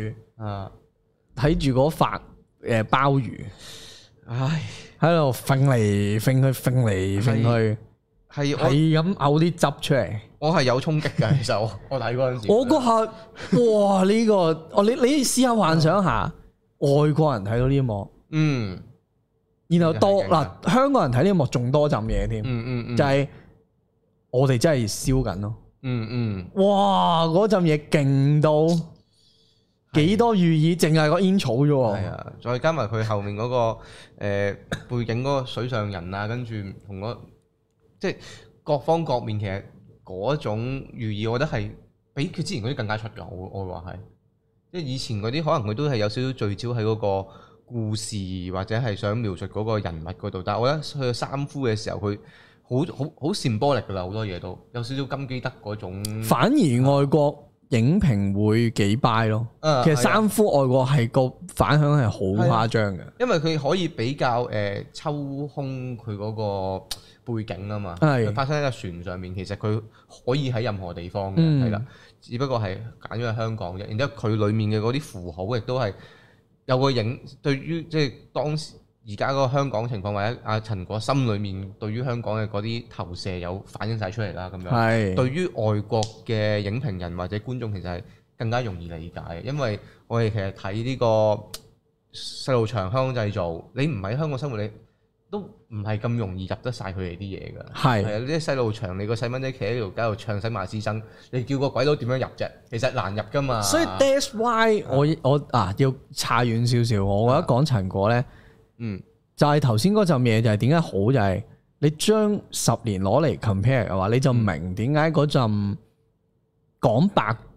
住嗰發鮑魚，唉，喺度揈嚟揈去，係咁嘔啲汁出嚟。 我係有衝擊㗎，其實我睇嗰陣時， 我嗰下哇呢個，你試下幻想下，外國人睇到呢一幕，然後多嗱，香港人睇呢一幕仲多浸嘢添，就係我哋真係燒緊咯，哇嗰浸嘢勁到幾多寓意，淨係個煙草啫喎，係啊， 再加埋佢後面嗰個背景嗰個水上人啊，跟住同嗰即係各方各面，其實嗰種寓意，我覺得係比佢之前嗰啲更加出㗎，我會話係，即係以前嗰啲可能佢都係有少少聚焦喺嗰個故事或者係想描述嗰個人物嗰度，但係我覺得去到三夫嘅時候，佢好symbolic㗎啦，好多嘢都有少少金基德嗰種。反而外國影評會幾 buy 咯，其實三夫外國係個反響係好誇張嘅，因為佢可以比較抽空佢嗰個背景啊嘛，佢發生喺個船上面，其實佢可以喺任何地方嘅，係啦，只不過係揀咗喺香港啫。然之後佢裡面嘅嗰啲符號亦都係。有個影對於即係當時而家嗰個香港情況，或者阿陳果心裏面對於香港嘅嗰啲投射有反映晒出嚟啦，咁樣。係。對於外國嘅影評人或者觀眾，其實係更加容易理解，因為我哋其實睇呢個細路祥香港製造，你唔喺香港生活，你都唔係咁容易入得晒佢哋啲嘢㗎。係。係啊，呢啲細路祥，你個細蚊仔企喺條街度唱洗馬師曾，你叫個鬼佬點樣入啫？其實難入㗎嘛。所以 that's why 我要差遠少少，我覺得講陳果咧，就係頭先嗰陣嘢就係點解好，就係你將10年攞嚟 compare 嘅話，你就明點解嗰陣講白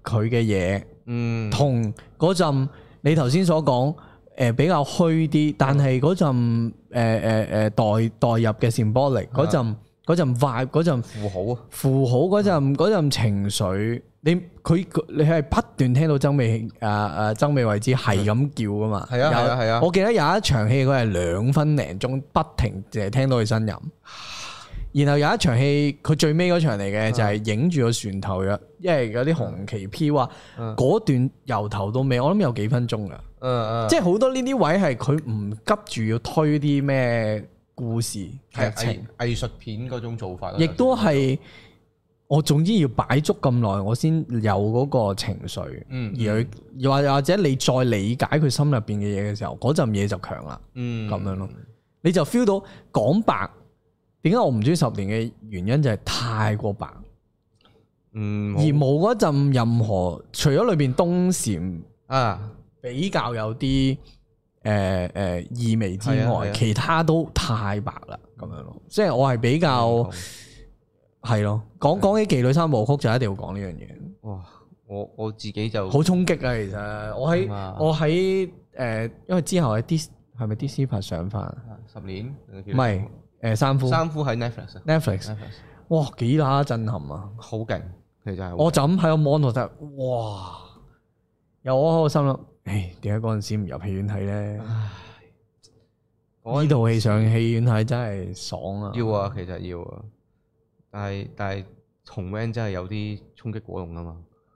佢嘅嘢，同嗰陣你頭先所講比較虛啲，但係嗰陣代入嘅 symbolic 嗰陣 vibe 嗰陣符號嗰陣情緒，你係不斷聽到曾美慧孜係咁叫噶嘛？係啊！我記得有一場戲佢係2分零鐘不停淨係聽到佢呻吟，然後有一場戲佢最尾嗰場嚟嘅就係影住個船頭嘅，因為有啲紅旗飄啊，嗰段由頭到尾我諗有幾分鐘噶，即係好多呢啲位係佢唔急住要推啲咩故事劇情藝術片嗰種做法， 亦都係我總之要擺足咁耐，我先有嗰個情緒，而又或者你再理解佢心入邊嘅嘢嘅時候，嗰陣嘢就強啦，咁樣咯，你就 feel 到講白，點解我唔中意10年嘅原因就係太過白，而冇嗰陣任何除咗裏邊東禪比較有啲意味之外，其他都太白啦，咁樣咯。即係我係比較係咯，講起妓女3部曲就一定要講呢樣嘢。 哇！我自己就好衝擊啊！其實我喺因為之後喺係咪 Disney 拍上翻 10年？ 唔係三夫喺 Netflix。 哇！幾乸震撼啊！ 好勁，其實係。我就咁喺個 mon 度睇，哇！有我喺個心諗。點解嗰陣時唔入戲院睇咧？呢套戲上戲院睇真係爽啊！ 要啊，其實要啊，但係紅 van 真係有啲衝擊果凍啊嘛。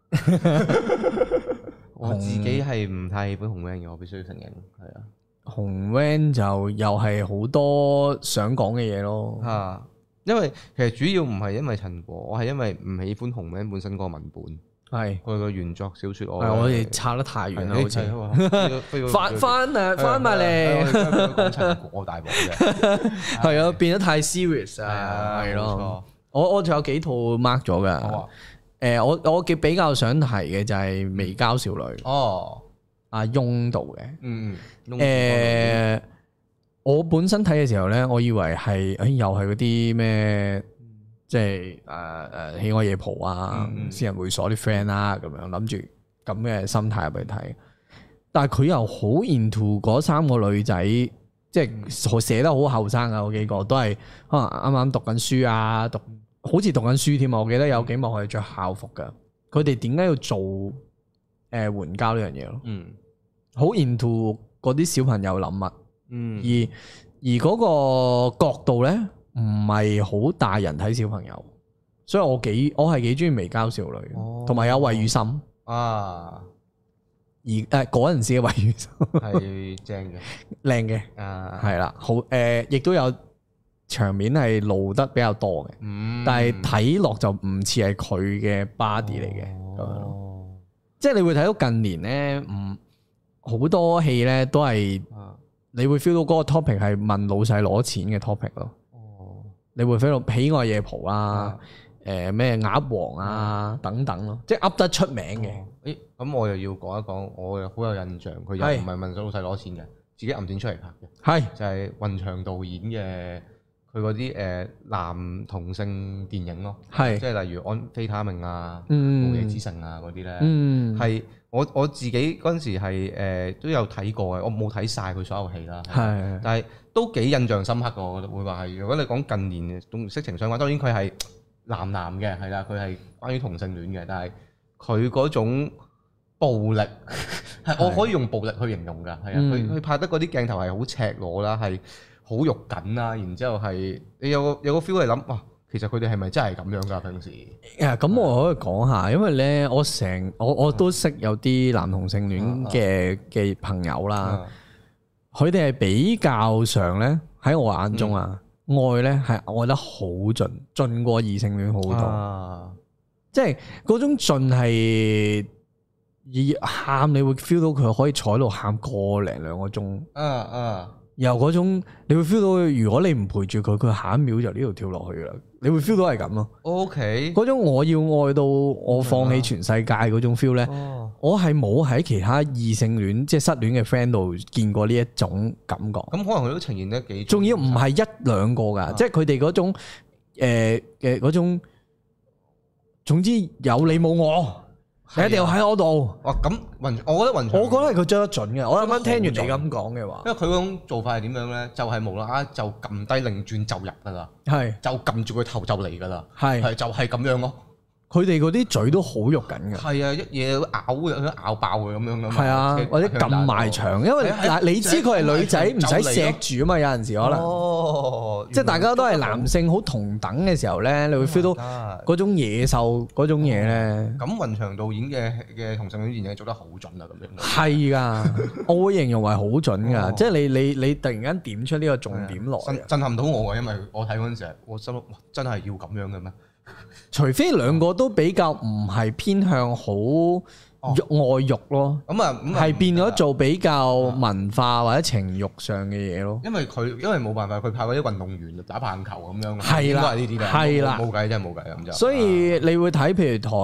我自己係唔太喜歡紅 van 嘅，我必須要承認。係啊， 紅 van 就又係好多想講嘅嘢咯。 因為其實主要唔係因為陳果，我係因為唔喜歡紅 van 本身個文本。係佢個原作小說， 我哋差得太遠啦，好似翻埋嚟， 講陳果大鑊嘅， 係啊，變得太 serious 啊，係咯。我仲有幾套 mark 咗噶，我比較想提嘅就係《微交少女》阿翁導嘅，我本身睇嘅時候咧，我以為係又係嗰啲咩。即係喜愛夜蒲啊，私人會所啲 friend 啦，咁樣諗住咁嘅心態入去睇，但係佢又好 into 嗰3個女仔，即係寫得好後生啊，嗰幾個都係可能啱啱讀緊書啊，好似讀緊書添啊！我記得有幾幕係着校服噶，佢哋點解要做援交呢樣嘢咯？好 into 嗰啲小朋友諗物，而嗰個角度咧。唔係好大人睇小朋友，所以我係幾中意微交少女，同埋有魏雨森啊，而嗰陣時嘅魏雨森係正嘅， 靚嘅係啦，好亦都有場面係露得比較多嘅，但係睇落就唔似係佢嘅 body 嚟嘅咁樣咯，即係你會睇到近年咧，好多戲咧都係你會 feel 到嗰個 topic 係問老細攞錢嘅 topic 咯。你會 feel 到喜愛夜蒲啊，咩鴨王啊等等咯，即係噏得出名嘅。 咁我又要講一講，我又好有印象，佢又唔係問老細攞錢嘅，自己揞錢出嚟拍嘅。就係雲翔導演嘅佢嗰啲男同性電影咯，即係例如安非他命啊、無夜之城啊嗰啲咧，係我自己嗰陣時係都有睇過嘅，我冇睇晒佢所有戲啦，但係都幾印象深刻嘅，我覺得會話係。如果你講近年同色情相關，當然佢係男嘅，係啦，佢係關於同性戀嘅，但係佢嗰種暴力係我可以用暴力去形容㗎，係啊，佢拍得嗰啲鏡頭係好赤裸啦，係好肉緊啦，然之後係你有個 feel 係諗哇，其實佢哋係咪真係咁樣㗎平時？ 咁我可以講下，因為咧我都識有啲男同性戀嘅朋友啦。佢哋係比較上咧，喺我眼中愛咧係愛得好盡過異性戀好多，即係嗰種盡係喊，你會 feel 到佢可以坐喺度喊個零2個鐘，然後嗰種你會 feel 到，如果你唔陪住佢，佢下一秒就呢度跳落去啦，你會 feel 到係咁咯。OK，嗰種我要愛到我放棄全世界嗰種 feel 咧。我係冇喺其他異性戀即係失戀嘅 friend 度見過呢一種感覺。咁可能佢都呈現得幾， 仲要唔係1-2個㗎，即係佢哋嗰種嘅嗰種，總之有你冇我， 你一定要喺嗰度。 哇！咁我覺得雲翔， 我覺得係佢追得準嘅。我啱啱聽完你咁講嘅話， 因為佢嗰種做法係點樣咧？就係無啦啦就撳低擰轉就入噶啦， 係就撳住佢頭就嚟噶啦， 係就係咁樣咯。 佢哋嗰啲嘴都好肉緊嘅， 係啊，一嘢咬爆佢咁樣噶嘛。 係啊，或者撳埋牆，因為嗱你知佢係女仔，唔使錫住啊嘛。有陣時可能，即係大家都係男性好同等嘅時候咧，你會 feel 到嗰種野獸嗰種嘢咧。咁雲翔導演嘅同性戀電影做得好準啊，咁樣。 係噶，我會形容為好準噶，即係你突然間點出呢個重點落， 震撼到我啊！因為我睇嗰陣時，我心諗哇，真係要咁樣嘅咩？ 除非兩個都比較唔係偏向好愛欲咯，係變咗做比較文化或者情慾上嘅嘢咯。因為冇辦法，佢拍嗰啲運動員打棒球咁樣， 係啦， 呢啲嘅， 係啦， 冇計真係冇計咁就。 所以你會睇譬如台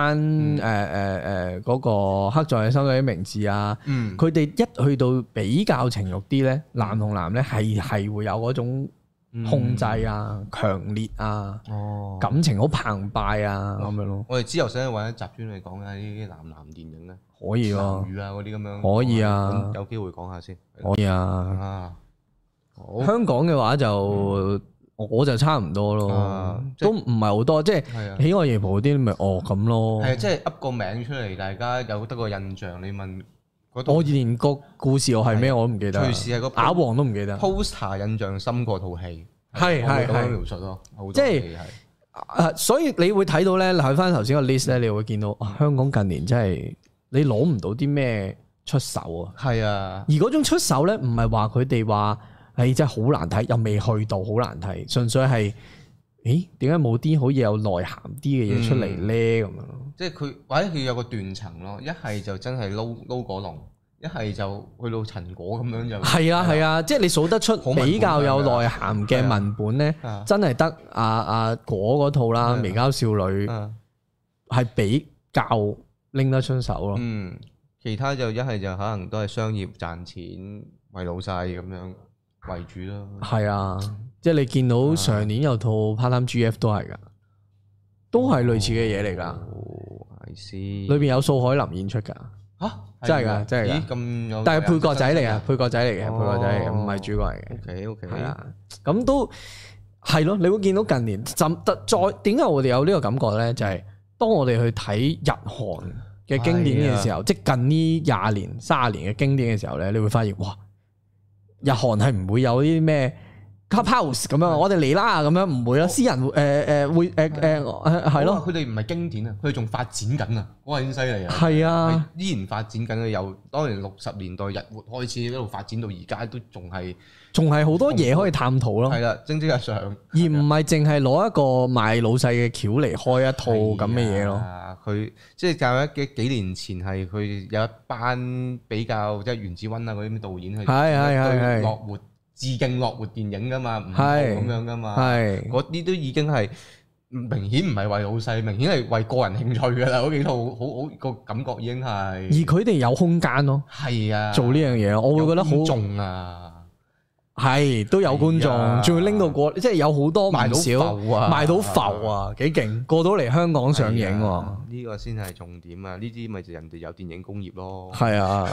灣嗰個刻在你心底的名字啊，佢哋一去到比較情慾啲咧，男同男咧係會有嗰種控制啊、強烈啊、感情好澎湃啊咁樣咯。 我哋之後想揾一集專嚟講下呢啲男電影咧， 可以咯， 男語啊嗰啲咁樣， 可以啊， 有機會講下先， 可以啊。香港嘅話就我就差唔多咯，都唔係好多，即係喜愛夜蒲嗰啲咪咁咯。 係即係噏個名出嚟，大家有得個印象。你問我連個故事我係咩我都唔記得，隨時係個啞王都唔記得。 poster 印象深過套戲，係咁樣描述咯， 即係所以你會睇到咧，睇翻頭先個 list 咧，你會見到香港近年真係你攞唔到啲咩出手啊。係啊，而嗰種出手咧，唔係話佢哋話誒真係好難睇，又未去到好難睇，純粹係點解冇啲好似有內涵啲嘅嘢出嚟咧咁樣？即係佢或者佢有個斷層咯，一係就真係撈果龍，一係就去到陳果咁樣就係啊係啊，即係你數得出比較有內涵嘅文本咧，真係得阿果嗰套啦，《微交少女》係比較拎得出手咯。其他就一係就可能都係商業賺錢為老細咁樣為主咯。係啊，即係你見到上年有套 Part Time GF 都係噶，都係類似嘅嘢嚟噶。裏邊有素海霖演出噶。真係噶，真係噶。咁有，但係配角仔嚟啊，配角仔嚟嘅，配角仔嚟嘅，唔係主角嚟嘅。OK，係啊，咁都係咯。你會見到近年再點解我哋有呢個感覺咧？就係當我哋去睇日韓嘅經典嘅時候，即係近呢20年、30年嘅經典嘅時候咧，你會發現哇，日韓係唔會有啲咩 Clubhouse 咁樣，我哋嚟啦咁樣，唔會啦。私人會係咯，佢哋唔係經典啊，佢哋仲發展緊啊，嗰個已經犀利啊。係啊，依然發展緊嘅，由當年60年代日活開始一路發展到而家，都仲係好多嘢可以探討咯。係啦，蒸蒸日上，而唔係淨係攞一個賣老細嘅橋嚟開一套咁嘅嘢咯。佢即係教咗幾年前係佢有一班比較即係袁子溫啊嗰啲導演去對樂活。致敬樂活電影噶嘛，唔係咁樣噶嘛，嗰啲都已經係明顯唔係為老細，明顯係為個人興趣噶啦。嗰幾套好個感覺已經係，而佢哋有空間咯，係啊，做呢樣嘢，我會覺得好重啊，係都有觀眾，仲要拎到過，即係有好多唔少賣到浮啊，幾勁，過到嚟香港上映，呢個先係重點啊！呢啲咪就人哋有電影工業咯，係啊。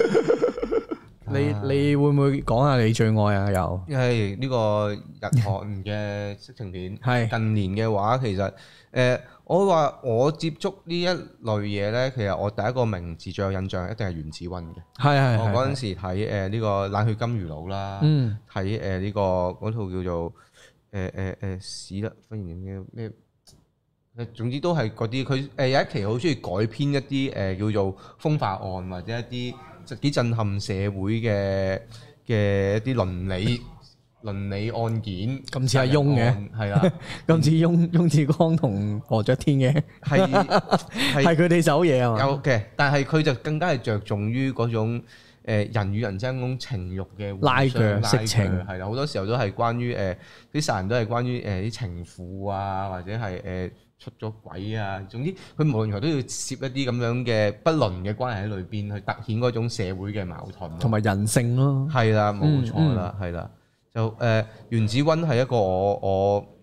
你會唔會講下你最愛啊？有，因為呢個日韓嘅色情片，係近年嘅話，其實我話我接觸呢一類嘢咧，其實我第一個名字最有印象一定係袁子溫嘅。係我嗰陣時睇呢個冷血金魚佬啦，睇呢個嗰套叫做屎啦，忽然嘅咩？總之都係嗰啲，佢有一期好中意改編一啲叫做風化案或者一啲幾震撼社會嘅一啲倫理案件，咁似阿翁嘅，係啦，咁似翁子光同何爵天嘅，係佢哋手嘢啊嘛。有嘅，但係佢就更加係着重於嗰種人與人之間嗰種情慾嘅拉鋸色情，係啦，好多時候都係關於啲殺人都係關於啲情婦啊，或者係出咗軌啊，總之佢無論如何都要攝一啲咁樣嘅不倫嘅關係喺裏邊，去突顯嗰種社會嘅矛盾同埋人性咯。係啦，冇錯啦，係啦，就袁子溫係一個我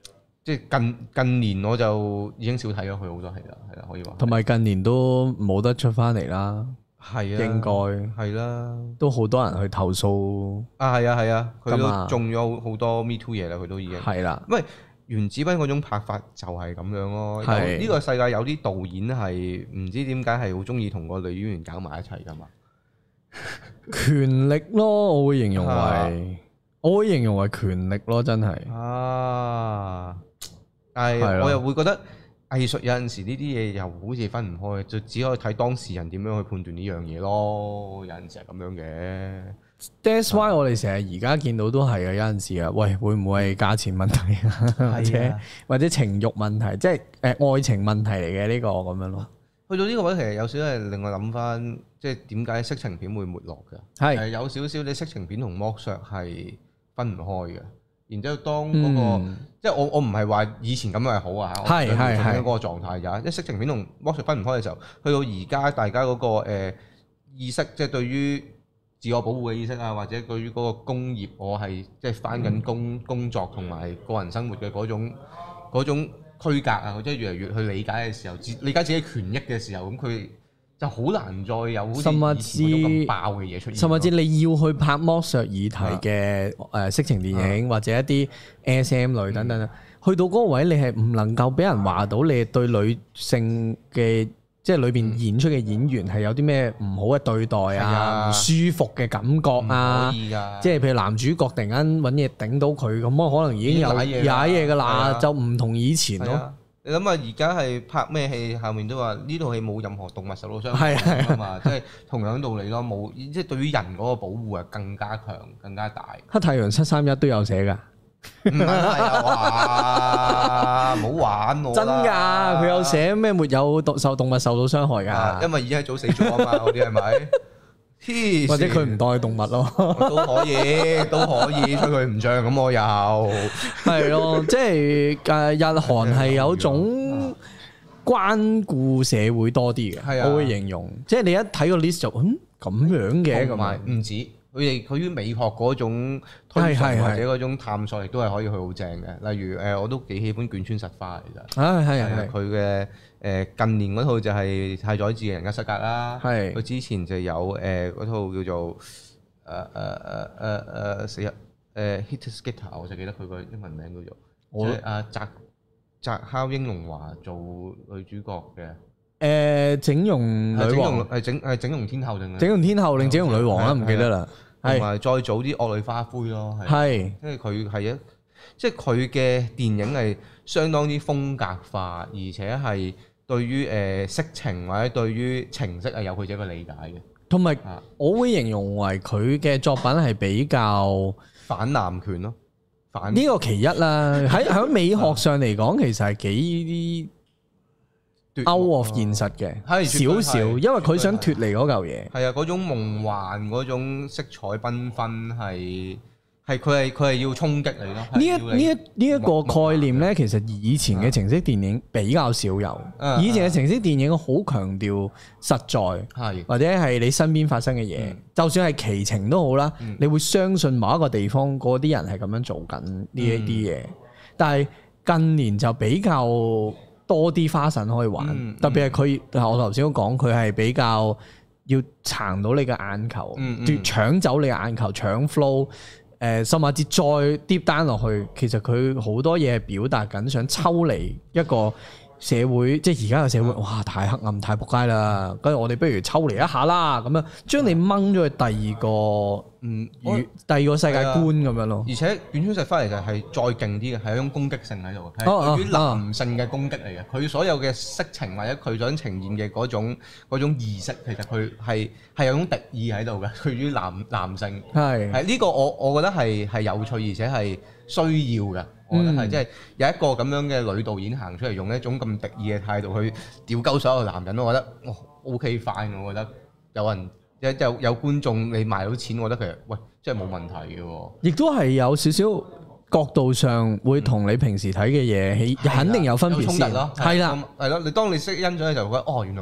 即係近年我就已經少睇咗佢好多戲啦，係啦，可以話。同埋近年都冇得出翻嚟啦， 係啊， 應該係啦， 都好多人去投訴啊，係啊，佢都中咗好多 Me Too 嘢啦，佢都已經係啦。 因為原子斌嗰種拍法就係咁樣咯。呢個世界有啲導演係唔知點解係好中意同個女演員搞埋一齊噶嘛？ 權力咯，我會形容為權力咯，真係啊！但係我又會覺得藝術有陣時呢啲嘢又好似分唔開，就只可以睇當事人點樣去判斷呢樣嘢咯。有陣時係咁樣嘅。 That's why 我哋成日而家見到都係嘅，有陣時啊，喂，會唔會係價錢問題啊？或者情慾問題，即係愛情問題嚟嘅呢個咁樣咯。 去到呢個位其實有少少係令我諗翻，即係點解色情片會沒落嘅？係有少少你色情片同剝削係分唔開嘅。然之後當嗰個，即係我唔係話以前咁樣係好啊，係嗰個狀態咋？即係色情片同剝削分唔開嘅時候，去到而家大家嗰個意識，即係對於自我保護嘅意識啊，或者對於嗰個工業，我係即係返緊工作同埋個人生活嘅嗰種區隔啊，即係越嚟越去理解嘅時候，理解自己權益嘅時候，咁佢就好難再有好似以前嗰種咁爆嘅嘢出現。甚至你要去拍剝削議題嘅色情電影，或者一啲 SM 類等等，去到嗰個位，你係唔能夠俾人話到你對女性嘅，即係裏邊演出嘅演員係有啲咩唔好嘅對待啊，唔舒服嘅感覺啊，即係譬如男主角突然間揾嘢頂到佢，咁我可能已經有踩嘢噶啦，就唔同以前咯。 你諗下而家係拍咩戲，後面都話呢套戲冇任何動物受到傷害啊嘛，即係同樣道理咯，冇即係對於人嗰個保護係更加強、更加大。黑太陽731都有寫㗎。 唔係啊！唔好玩我啦！ 真㗎，佢有寫咩沒有動物受到傷害㗎？ 因為已經係早死咗啊嘛，嗰啲係咪？ 或者佢唔當係動物咯， 都可以吹佢唔脹咁，我又係咯，即係日韓係有種關顧社會多啲嘅，我會形容，即係你一睇個 list 就咁樣嘅， 同埋唔止。佢於美學嗰種推崇或者嗰種探索，亦都係可以去好正嘅。例如我都幾喜歡卷川實花其實。係佢嘅近年嗰套就係太宰治嘅人間失格啦。係佢之前就有嗰套叫做死人Hit Skater， 我就記得佢個英文名叫做，即係阿澤尻英龍華做女主角嘅。 整容女王係整容天后定整容天后定整容女王啦，唔記得啦。 同埋再早啲惡女花魁咯，係，即係佢係即係佢嘅電影係相當之風格化，而且係對於色情或者對於情色係有佢自己嘅理解嘅。同埋我會形容為佢嘅作品係比較反男權咯， 呢個其一啦。喺美學上嚟講，其實係幾out of 現實嘅，少少，因為佢想脫離嗰嚿嘢。 係啊，嗰種夢幻，嗰種色彩繽紛，佢係要衝擊你咯。 呢一個概念咧，其實以前嘅情色電影比較少有。以前嘅情色電影好強調實在，或者係你身邊發生嘅嘢，就算係奇情都好啦，你會相信某一個地方嗰啲人係咁樣做緊呢一啲嘢。但係近年就比較多啲花神可以玩，特別係佢，我頭先都講，佢係比較要撐到你嘅眼球，搶走你嘅眼球，搶 flow，甚至再 deep down 落去，其實佢好多嘢係表達緊，想抽離一個社會，即係而家嘅社會，哇，太黑暗，太仆街啦！跟住我哋不如抽離一下啦，咁樣將你掹咗去第二個世界觀咁樣咯。 而且卷川實花嚟就係再勁啲嘅，係一種攻擊性喺度，係對於男性嘅攻擊嚟嘅。佢所有嘅色情或者佢想呈現嘅嗰種意識，其實佢係有種敵意喺度嘅。對於男性係呢個我覺得係有趣，而且係需要嘅。我覺得係即係有一個咁樣嘅女導演行出嚟，用一種咁敵意嘅態度去屌鳩所有男人，我覺得OK fine，我覺得有人有觀眾你賣到錢，我覺得其實喂真係冇問題嘅喎。亦都係有少少角度上會同你平時睇嘅嘢肯定有分別先。衝突咯，係啦，你當你識欣賞嘅時候，覺得原來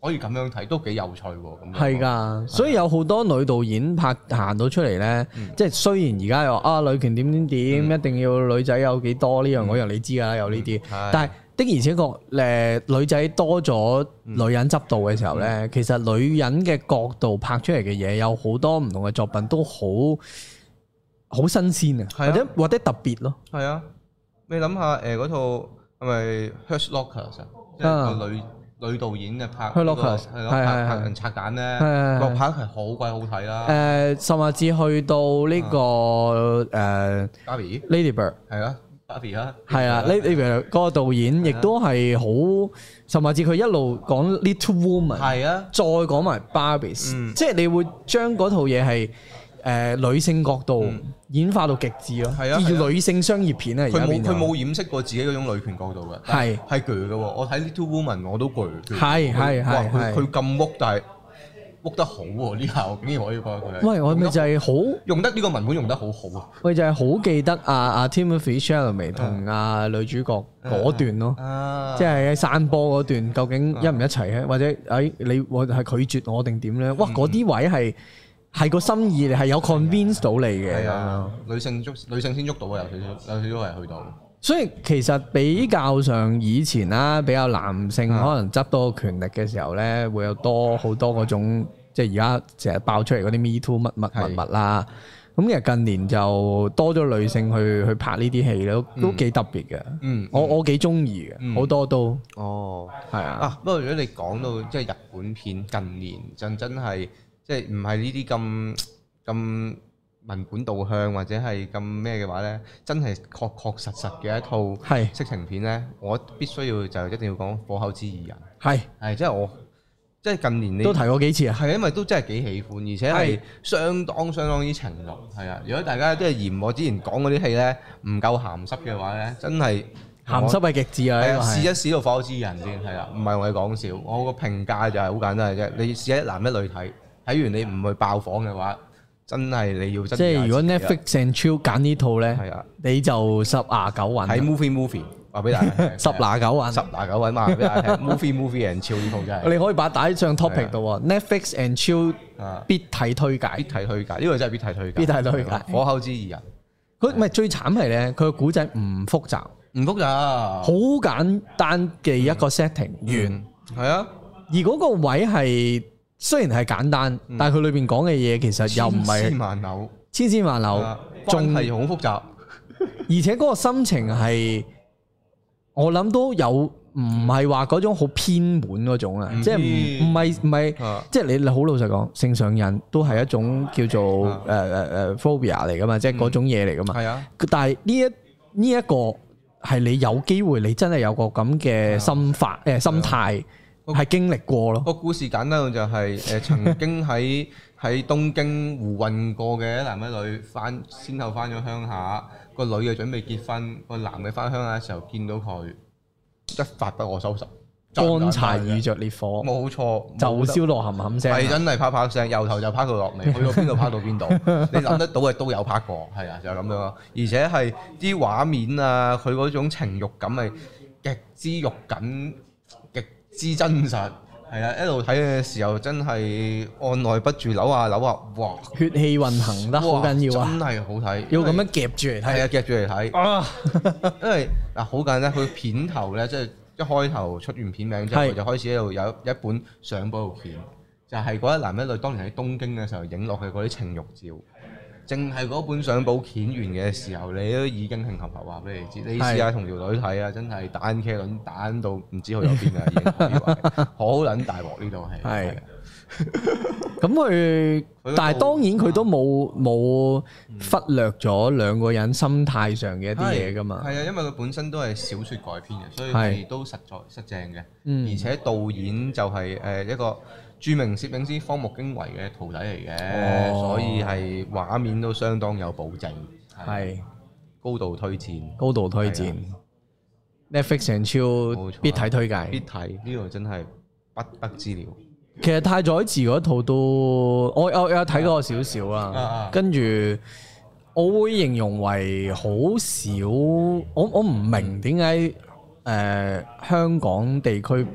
可以咁樣睇，都幾有趣喎。咁係㗎，所以有好多女導演行到出嚟咧，即係雖然而家又女權點點點，一定要女仔有幾多呢樣嗰樣，你知㗎啦，有呢啲，但係的而且確女仔多咗女人執導嘅時候咧，其實女人嘅角度拍出嚟嘅嘢有好多唔同嘅作品都好新鮮啊，或者特別咯。係啊， 你諗下嗰套係咪 Hurt Locker 即係個女導演嘅拍係咯，拍人拆彈咧，個拍係好鬼好睇啦。 甚至去到呢個 Barbie Lady Bird 係啊。 係啊 ，Lady Bird 嗰個導演亦都係好，甚至佢一路講 Little Woman， 係啊，再講埋 Barbie，即係你會將嗰套嘢係女性角度演化到極致咯，係啊，叫女性商業片啊，而家變咗佢冇掩飾過自己嗰種女權角度嘅，係鋸嘅喎。我睇 Little Woman 我都鋸， 係佢咁屋，但係屋得好喎，呢下我竟然可以覺得佢。 喂，我咪就係好用得呢個文本用得好好啊！ 我就係好記得阿 Timothée Chalamet 同阿女主角嗰段咯，即係喺山坡嗰段，究竟一唔一齊咧？或者我係拒絕我定點咧？哇！嗰啲位係個心意，係有 convince 到你嘅。係啊， 女性先捉到啊，有少少係去到。 所以其實比較上以前啦，比較男性可能執到權力嘅時候咧，會有好多嗰種，即係而家成日爆出嚟嗰啲 Me Too 乜啦。咁其實近年就多咗女性去拍呢啲戲都幾特別嘅。我幾中意嘅，好多都。哦，係啊。 不過如果你講到即係日本片近年真係即係唔係呢啲咁文本導向或者係咁咩嘅話咧，真係確實嘅一套色情片咧，我必須要就一定要講《火口之二人》。係即係我即係近年你都提過幾次啊？ 係因為都真係幾喜歡，而且係相當之情慾。係啊，如果大家都係嫌我之前講嗰啲戲咧唔夠鹹濕嘅話咧，真係鹹濕係極致啊！ 試一試到《火口之二人》先係啊，唔係我哋講笑。我個評價就係好簡單嘅啫，你試一男一女睇完你唔去爆房嘅話。真係你要真即係如果 Netflix and Chill 揀呢套咧，你就10拿9穩。 喺 movie 話俾大家聽 ，10拿9穩 ，10拿9穩話俾大家聽。movie and Chill 呢套真係。 你可以把帶上 topic 度喎 ，Netflix and Chill 必睇推介。 呢個真係必睇推介。 必睇推介。 火口之二人， 佢唔係最慘係咧，佢個古仔唔複雜，好簡單嘅一個 setting 完。係啊，而嗰個位係。雖然係簡單，但係佢裏邊講嘅嘢其實又唔係千絲萬縷， 仲係好複雜。 而且嗰個心情係，我諗都有，唔係話嗰種好偏門嗰種啊，即係唔係，即係你好老實講，性上癮都係一種叫做phobia 嚟噶嘛，即係嗰種嘢嚟噶嘛。係啊，但係呢一個係你有機會，你真係有個咁嘅心態。係經歷過咯。 個故事簡單到就係曾經喺東京胡混過嘅一男一女先後翻咗鄉下，個女嘅準備結婚，個男嘅翻鄉下嘅時候見到佢一發不可收拾， 乾柴遇着烈火， 冇錯， 就燒落冚冚聲， 係真係啪啪聲，由頭就啪到落尾，去到邊度啪到邊度，你諗得到嘅都有啪過，係啊，就係咁樣咯。而且係啲畫面啊，佢嗰種情慾感係極之肉緊。之真實係啊！一路睇嘅時候真係按捺不住扭下，哇！ 血氣運行得好緊要啊！ 真係好睇， 要咁樣夾住嚟睇。 係啊，夾住嚟睇。因為嗱好簡單，佢片頭咧，即係一開頭出完片名之後，佢就開始喺度有一本相簿片，就係嗰一男一女當年喺東京嘅時候影落去嗰啲情慾照。淨係嗰本相簿片完嘅時候，你都已經興合合話俾你知。你試下同條女睇啊，真係單茄輪單到唔知去咗邊啊！已經可以話好撚大鑊呢套戲。係。 咁佢，但係當然佢都冇忽略咗兩個人心態上嘅一啲嘢㗎嘛。係啊，因為佢本身都係小説改編嘅，所以係都實正嘅。而且導演就係一個著名攝影師荒木經惟嘅徒弟嚟嘅，所以係畫面都相當有保證，係高度推薦。Netflix and Chill必睇推介， 必睇呢度真係不得之了。 其實太宰治嗰套都我有睇過少少啦，跟住我會形容為好少，我唔明點解香港地區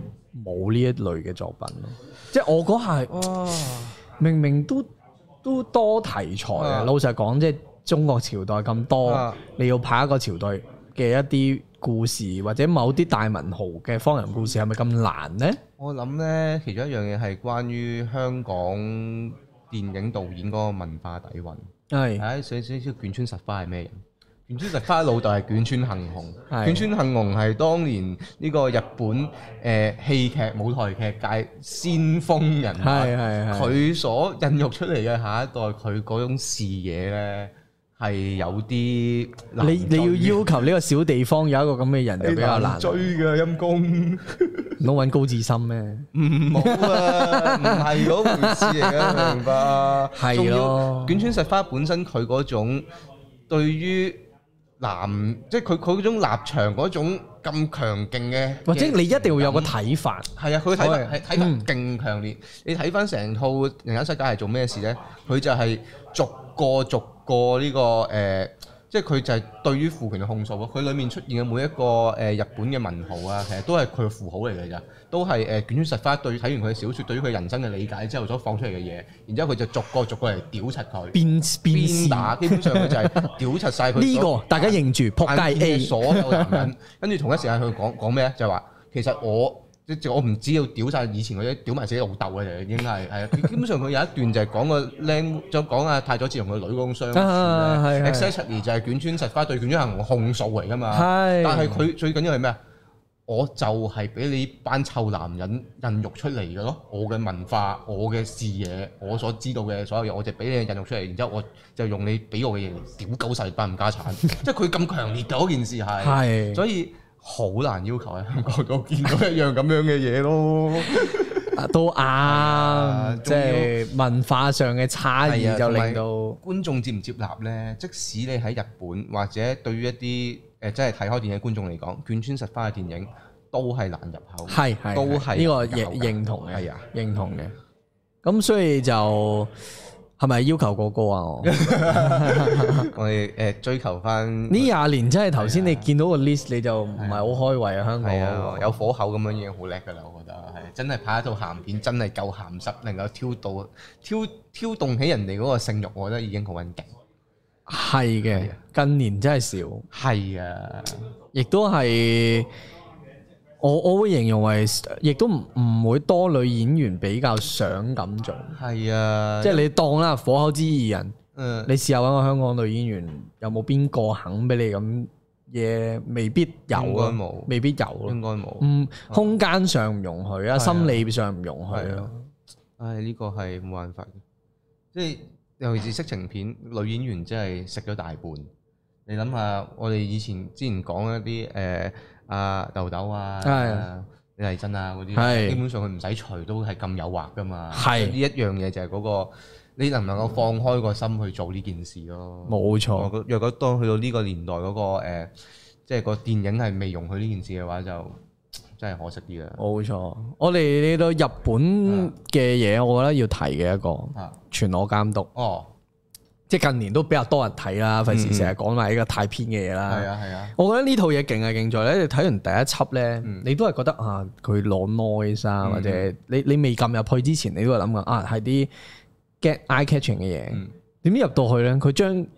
冇呢一類嘅作品咯。即係我嗰下係明明都多題材啊！老實講，即係中國朝代咁多，你要拍一個朝代嘅一啲故事，或者某啲大文豪嘅方人故事，係咪咁難呢？ 我諗呢，其中一樣嘢係關於香港電影導演嗰個文化底蘊。係，少少卷川實花係咩人？卷川實花老豆係卷川幸雄，卷川幸雄係當年呢個日本戲劇舞台劇界先鋒人物，佢所孕育出嚟嘅下一代，佢嗰種視野咧係有啲你要求呢個小地方有一個咁嘅人就比較難追嘅陰公， 唔好揾高志森咩？ 唔好啊，唔係嗰回事嚟嘅，明白？係咯，卷川實花本身佢嗰種對於即係佢嗰種立場嗰種咁強勁嘅，或者你一定要有個睇法。係啊，佢睇法係睇法勁強烈。你睇翻成套《人間世界》係做咩事咧？佢就係逐個呢個即係佢就係對於父權嘅控訴咯。佢裡面出現嘅每一個日本嘅文豪啊，其實都係佢嘅符號嚟嘅咋，都係卷川實花對睇完佢嘅小説，對於佢人生嘅理解之後所放出嚟嘅嘢，然之後佢就逐個嚟屌柒佢，鞭打，基本上佢就係屌柒晒佢。呢個大家認住撲街 A 所有男人，跟住同一時間佢講咩咧？就係話其實我唔知要屌晒以前嗰啲屌埋自己老豆嘅就已經係啊，基本上佢有一段就係講個靚，就講阿太宰治同佢女嗰種相處咧。exactly 就係卷川實花對卷川幸雄控訴嚟㗎嘛。但係佢最緊要係咩啊？我就係俾你班臭男人孕育出嚟嘅咯。我嘅文化、我嘅視野、我所知道嘅所有嘢，我就俾你孕育出嚟，然之後我就用你俾我嘅嘢嚟屌鳩曬班冚家產。即係佢咁強烈嘅嗰件事係，所以。好難要求喺香港度見到一樣咁樣嘅嘢咯，都啱，即係文化上嘅差異就令到觀眾接唔接納呢？即使你喺日本或者對於一啲即係睇開電影觀眾嚟講，卷川實花嘅電影都係難入口，都係呢個認同嘅，認同嘅。咁所以就。係咪要求過高啊？我哋追求翻呢20年，真係頭先你見到個 list 你就唔係好開胃啊！香港有火口咁樣已經好叻㗎啦，我覺得係真係拍一套鹹片，真係夠鹹濕，能夠挑動起人哋嗰個性慾，我覺得已經好穩勁。係嘅，近年真係少。係啊，亦都係。我會形容為，亦都唔會多女演員比較想咁做。係啊，即係你當啦，火口之二人。你試下揾個香港女演員，有冇邊個肯俾你咁嘢？未必有啊，未必有咯。應該冇。空間上唔容許啊，心理上唔容許咯。唉，呢個係冇辦法嘅。即係尤其是色情片，女演員真係食咗大半。你諗下，我哋之前講一啲豆豆啊，李麗珍啊嗰啲，基本上佢唔使除都係咁誘惑噶嘛。係呢一樣嘢就係嗰個，你能唔能夠放開個心去做呢件事咯？冇錯。若果當去到呢個年代嗰個即係個電影係未容許呢件事嘅話，就真係可惜啲啦。冇錯。我哋嚟到日本嘅嘢，我覺得要提嘅一個全裸監督。哦。即係近年都比較多人睇啦，費事成日講埋呢個太偏嘅嘢啦。係啊係啊，我覺得呢套嘢勁係勁在咧，你睇完第一輯咧，你都係覺得啊，佢攞 noise 啊，或者你未撳入去之前，你都係諗緊啊，係啲 get eye catching 嘅嘢。點知入到去咧，佢將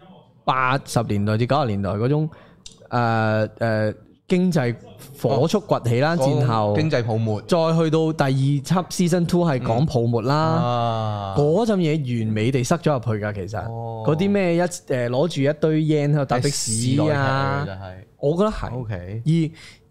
80年代至90年代嗰種經濟火速崛起啦，戰後經濟泡沫，再去到第二輯 Season 2係講泡沫啦，嗰陣嘢完美地塞咗入去㗎，其實嗰啲咩攞住一堆 yen 喺度搭的士啊，我覺得係。OK，而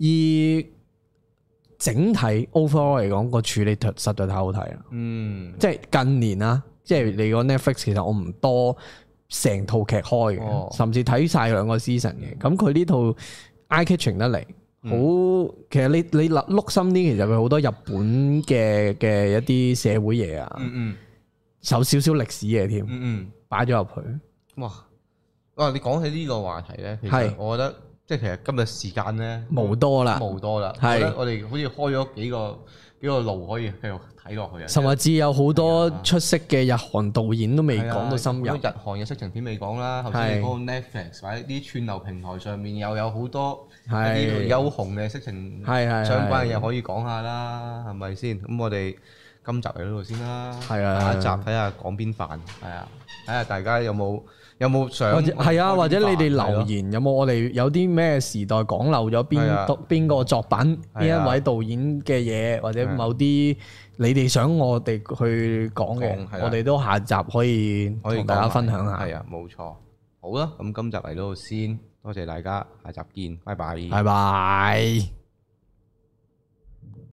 整體 overall 嚟講個處理實在太好睇啦。即係近年啦，即係你個 Netflix 其實我唔多成套劇開嘅，甚至睇晒2個 season 嘅。咁佢呢套eye catching 得嚟，好其實你碌深啲，其實佢好多日本嘅一啲社會嘢啊，有少少歷史嘢添，擺咗入去。哇！你講起呢個話題咧，其實我覺得即係其實今日時間咧冇多啦，我覺得我哋好似開咗幾個路可以繼續睇落去啊！ 甚至有好多出色嘅日韓導演都未講到深入， 日韓嘅色情片未講啦。頭先你講 Netflix 或者啲串流平台上面又有好多一啲優紅嘅色情相關嘅嘢可以講下啦，係咪先？咁我哋今集嚟呢度先啦，下一集睇下講邊範，係啊，睇下大家有冇想係啊，或者你哋留言有冇我哋有啲咩時代講漏咗邊個作品，邊一位導演嘅嘢，或者某啲你哋想我哋去講嘅，我哋都下集可以同大家分享下。 係啊，冇錯。好啦，咁今集嚟到先，多謝大家，下集見，拜拜。 拜拜。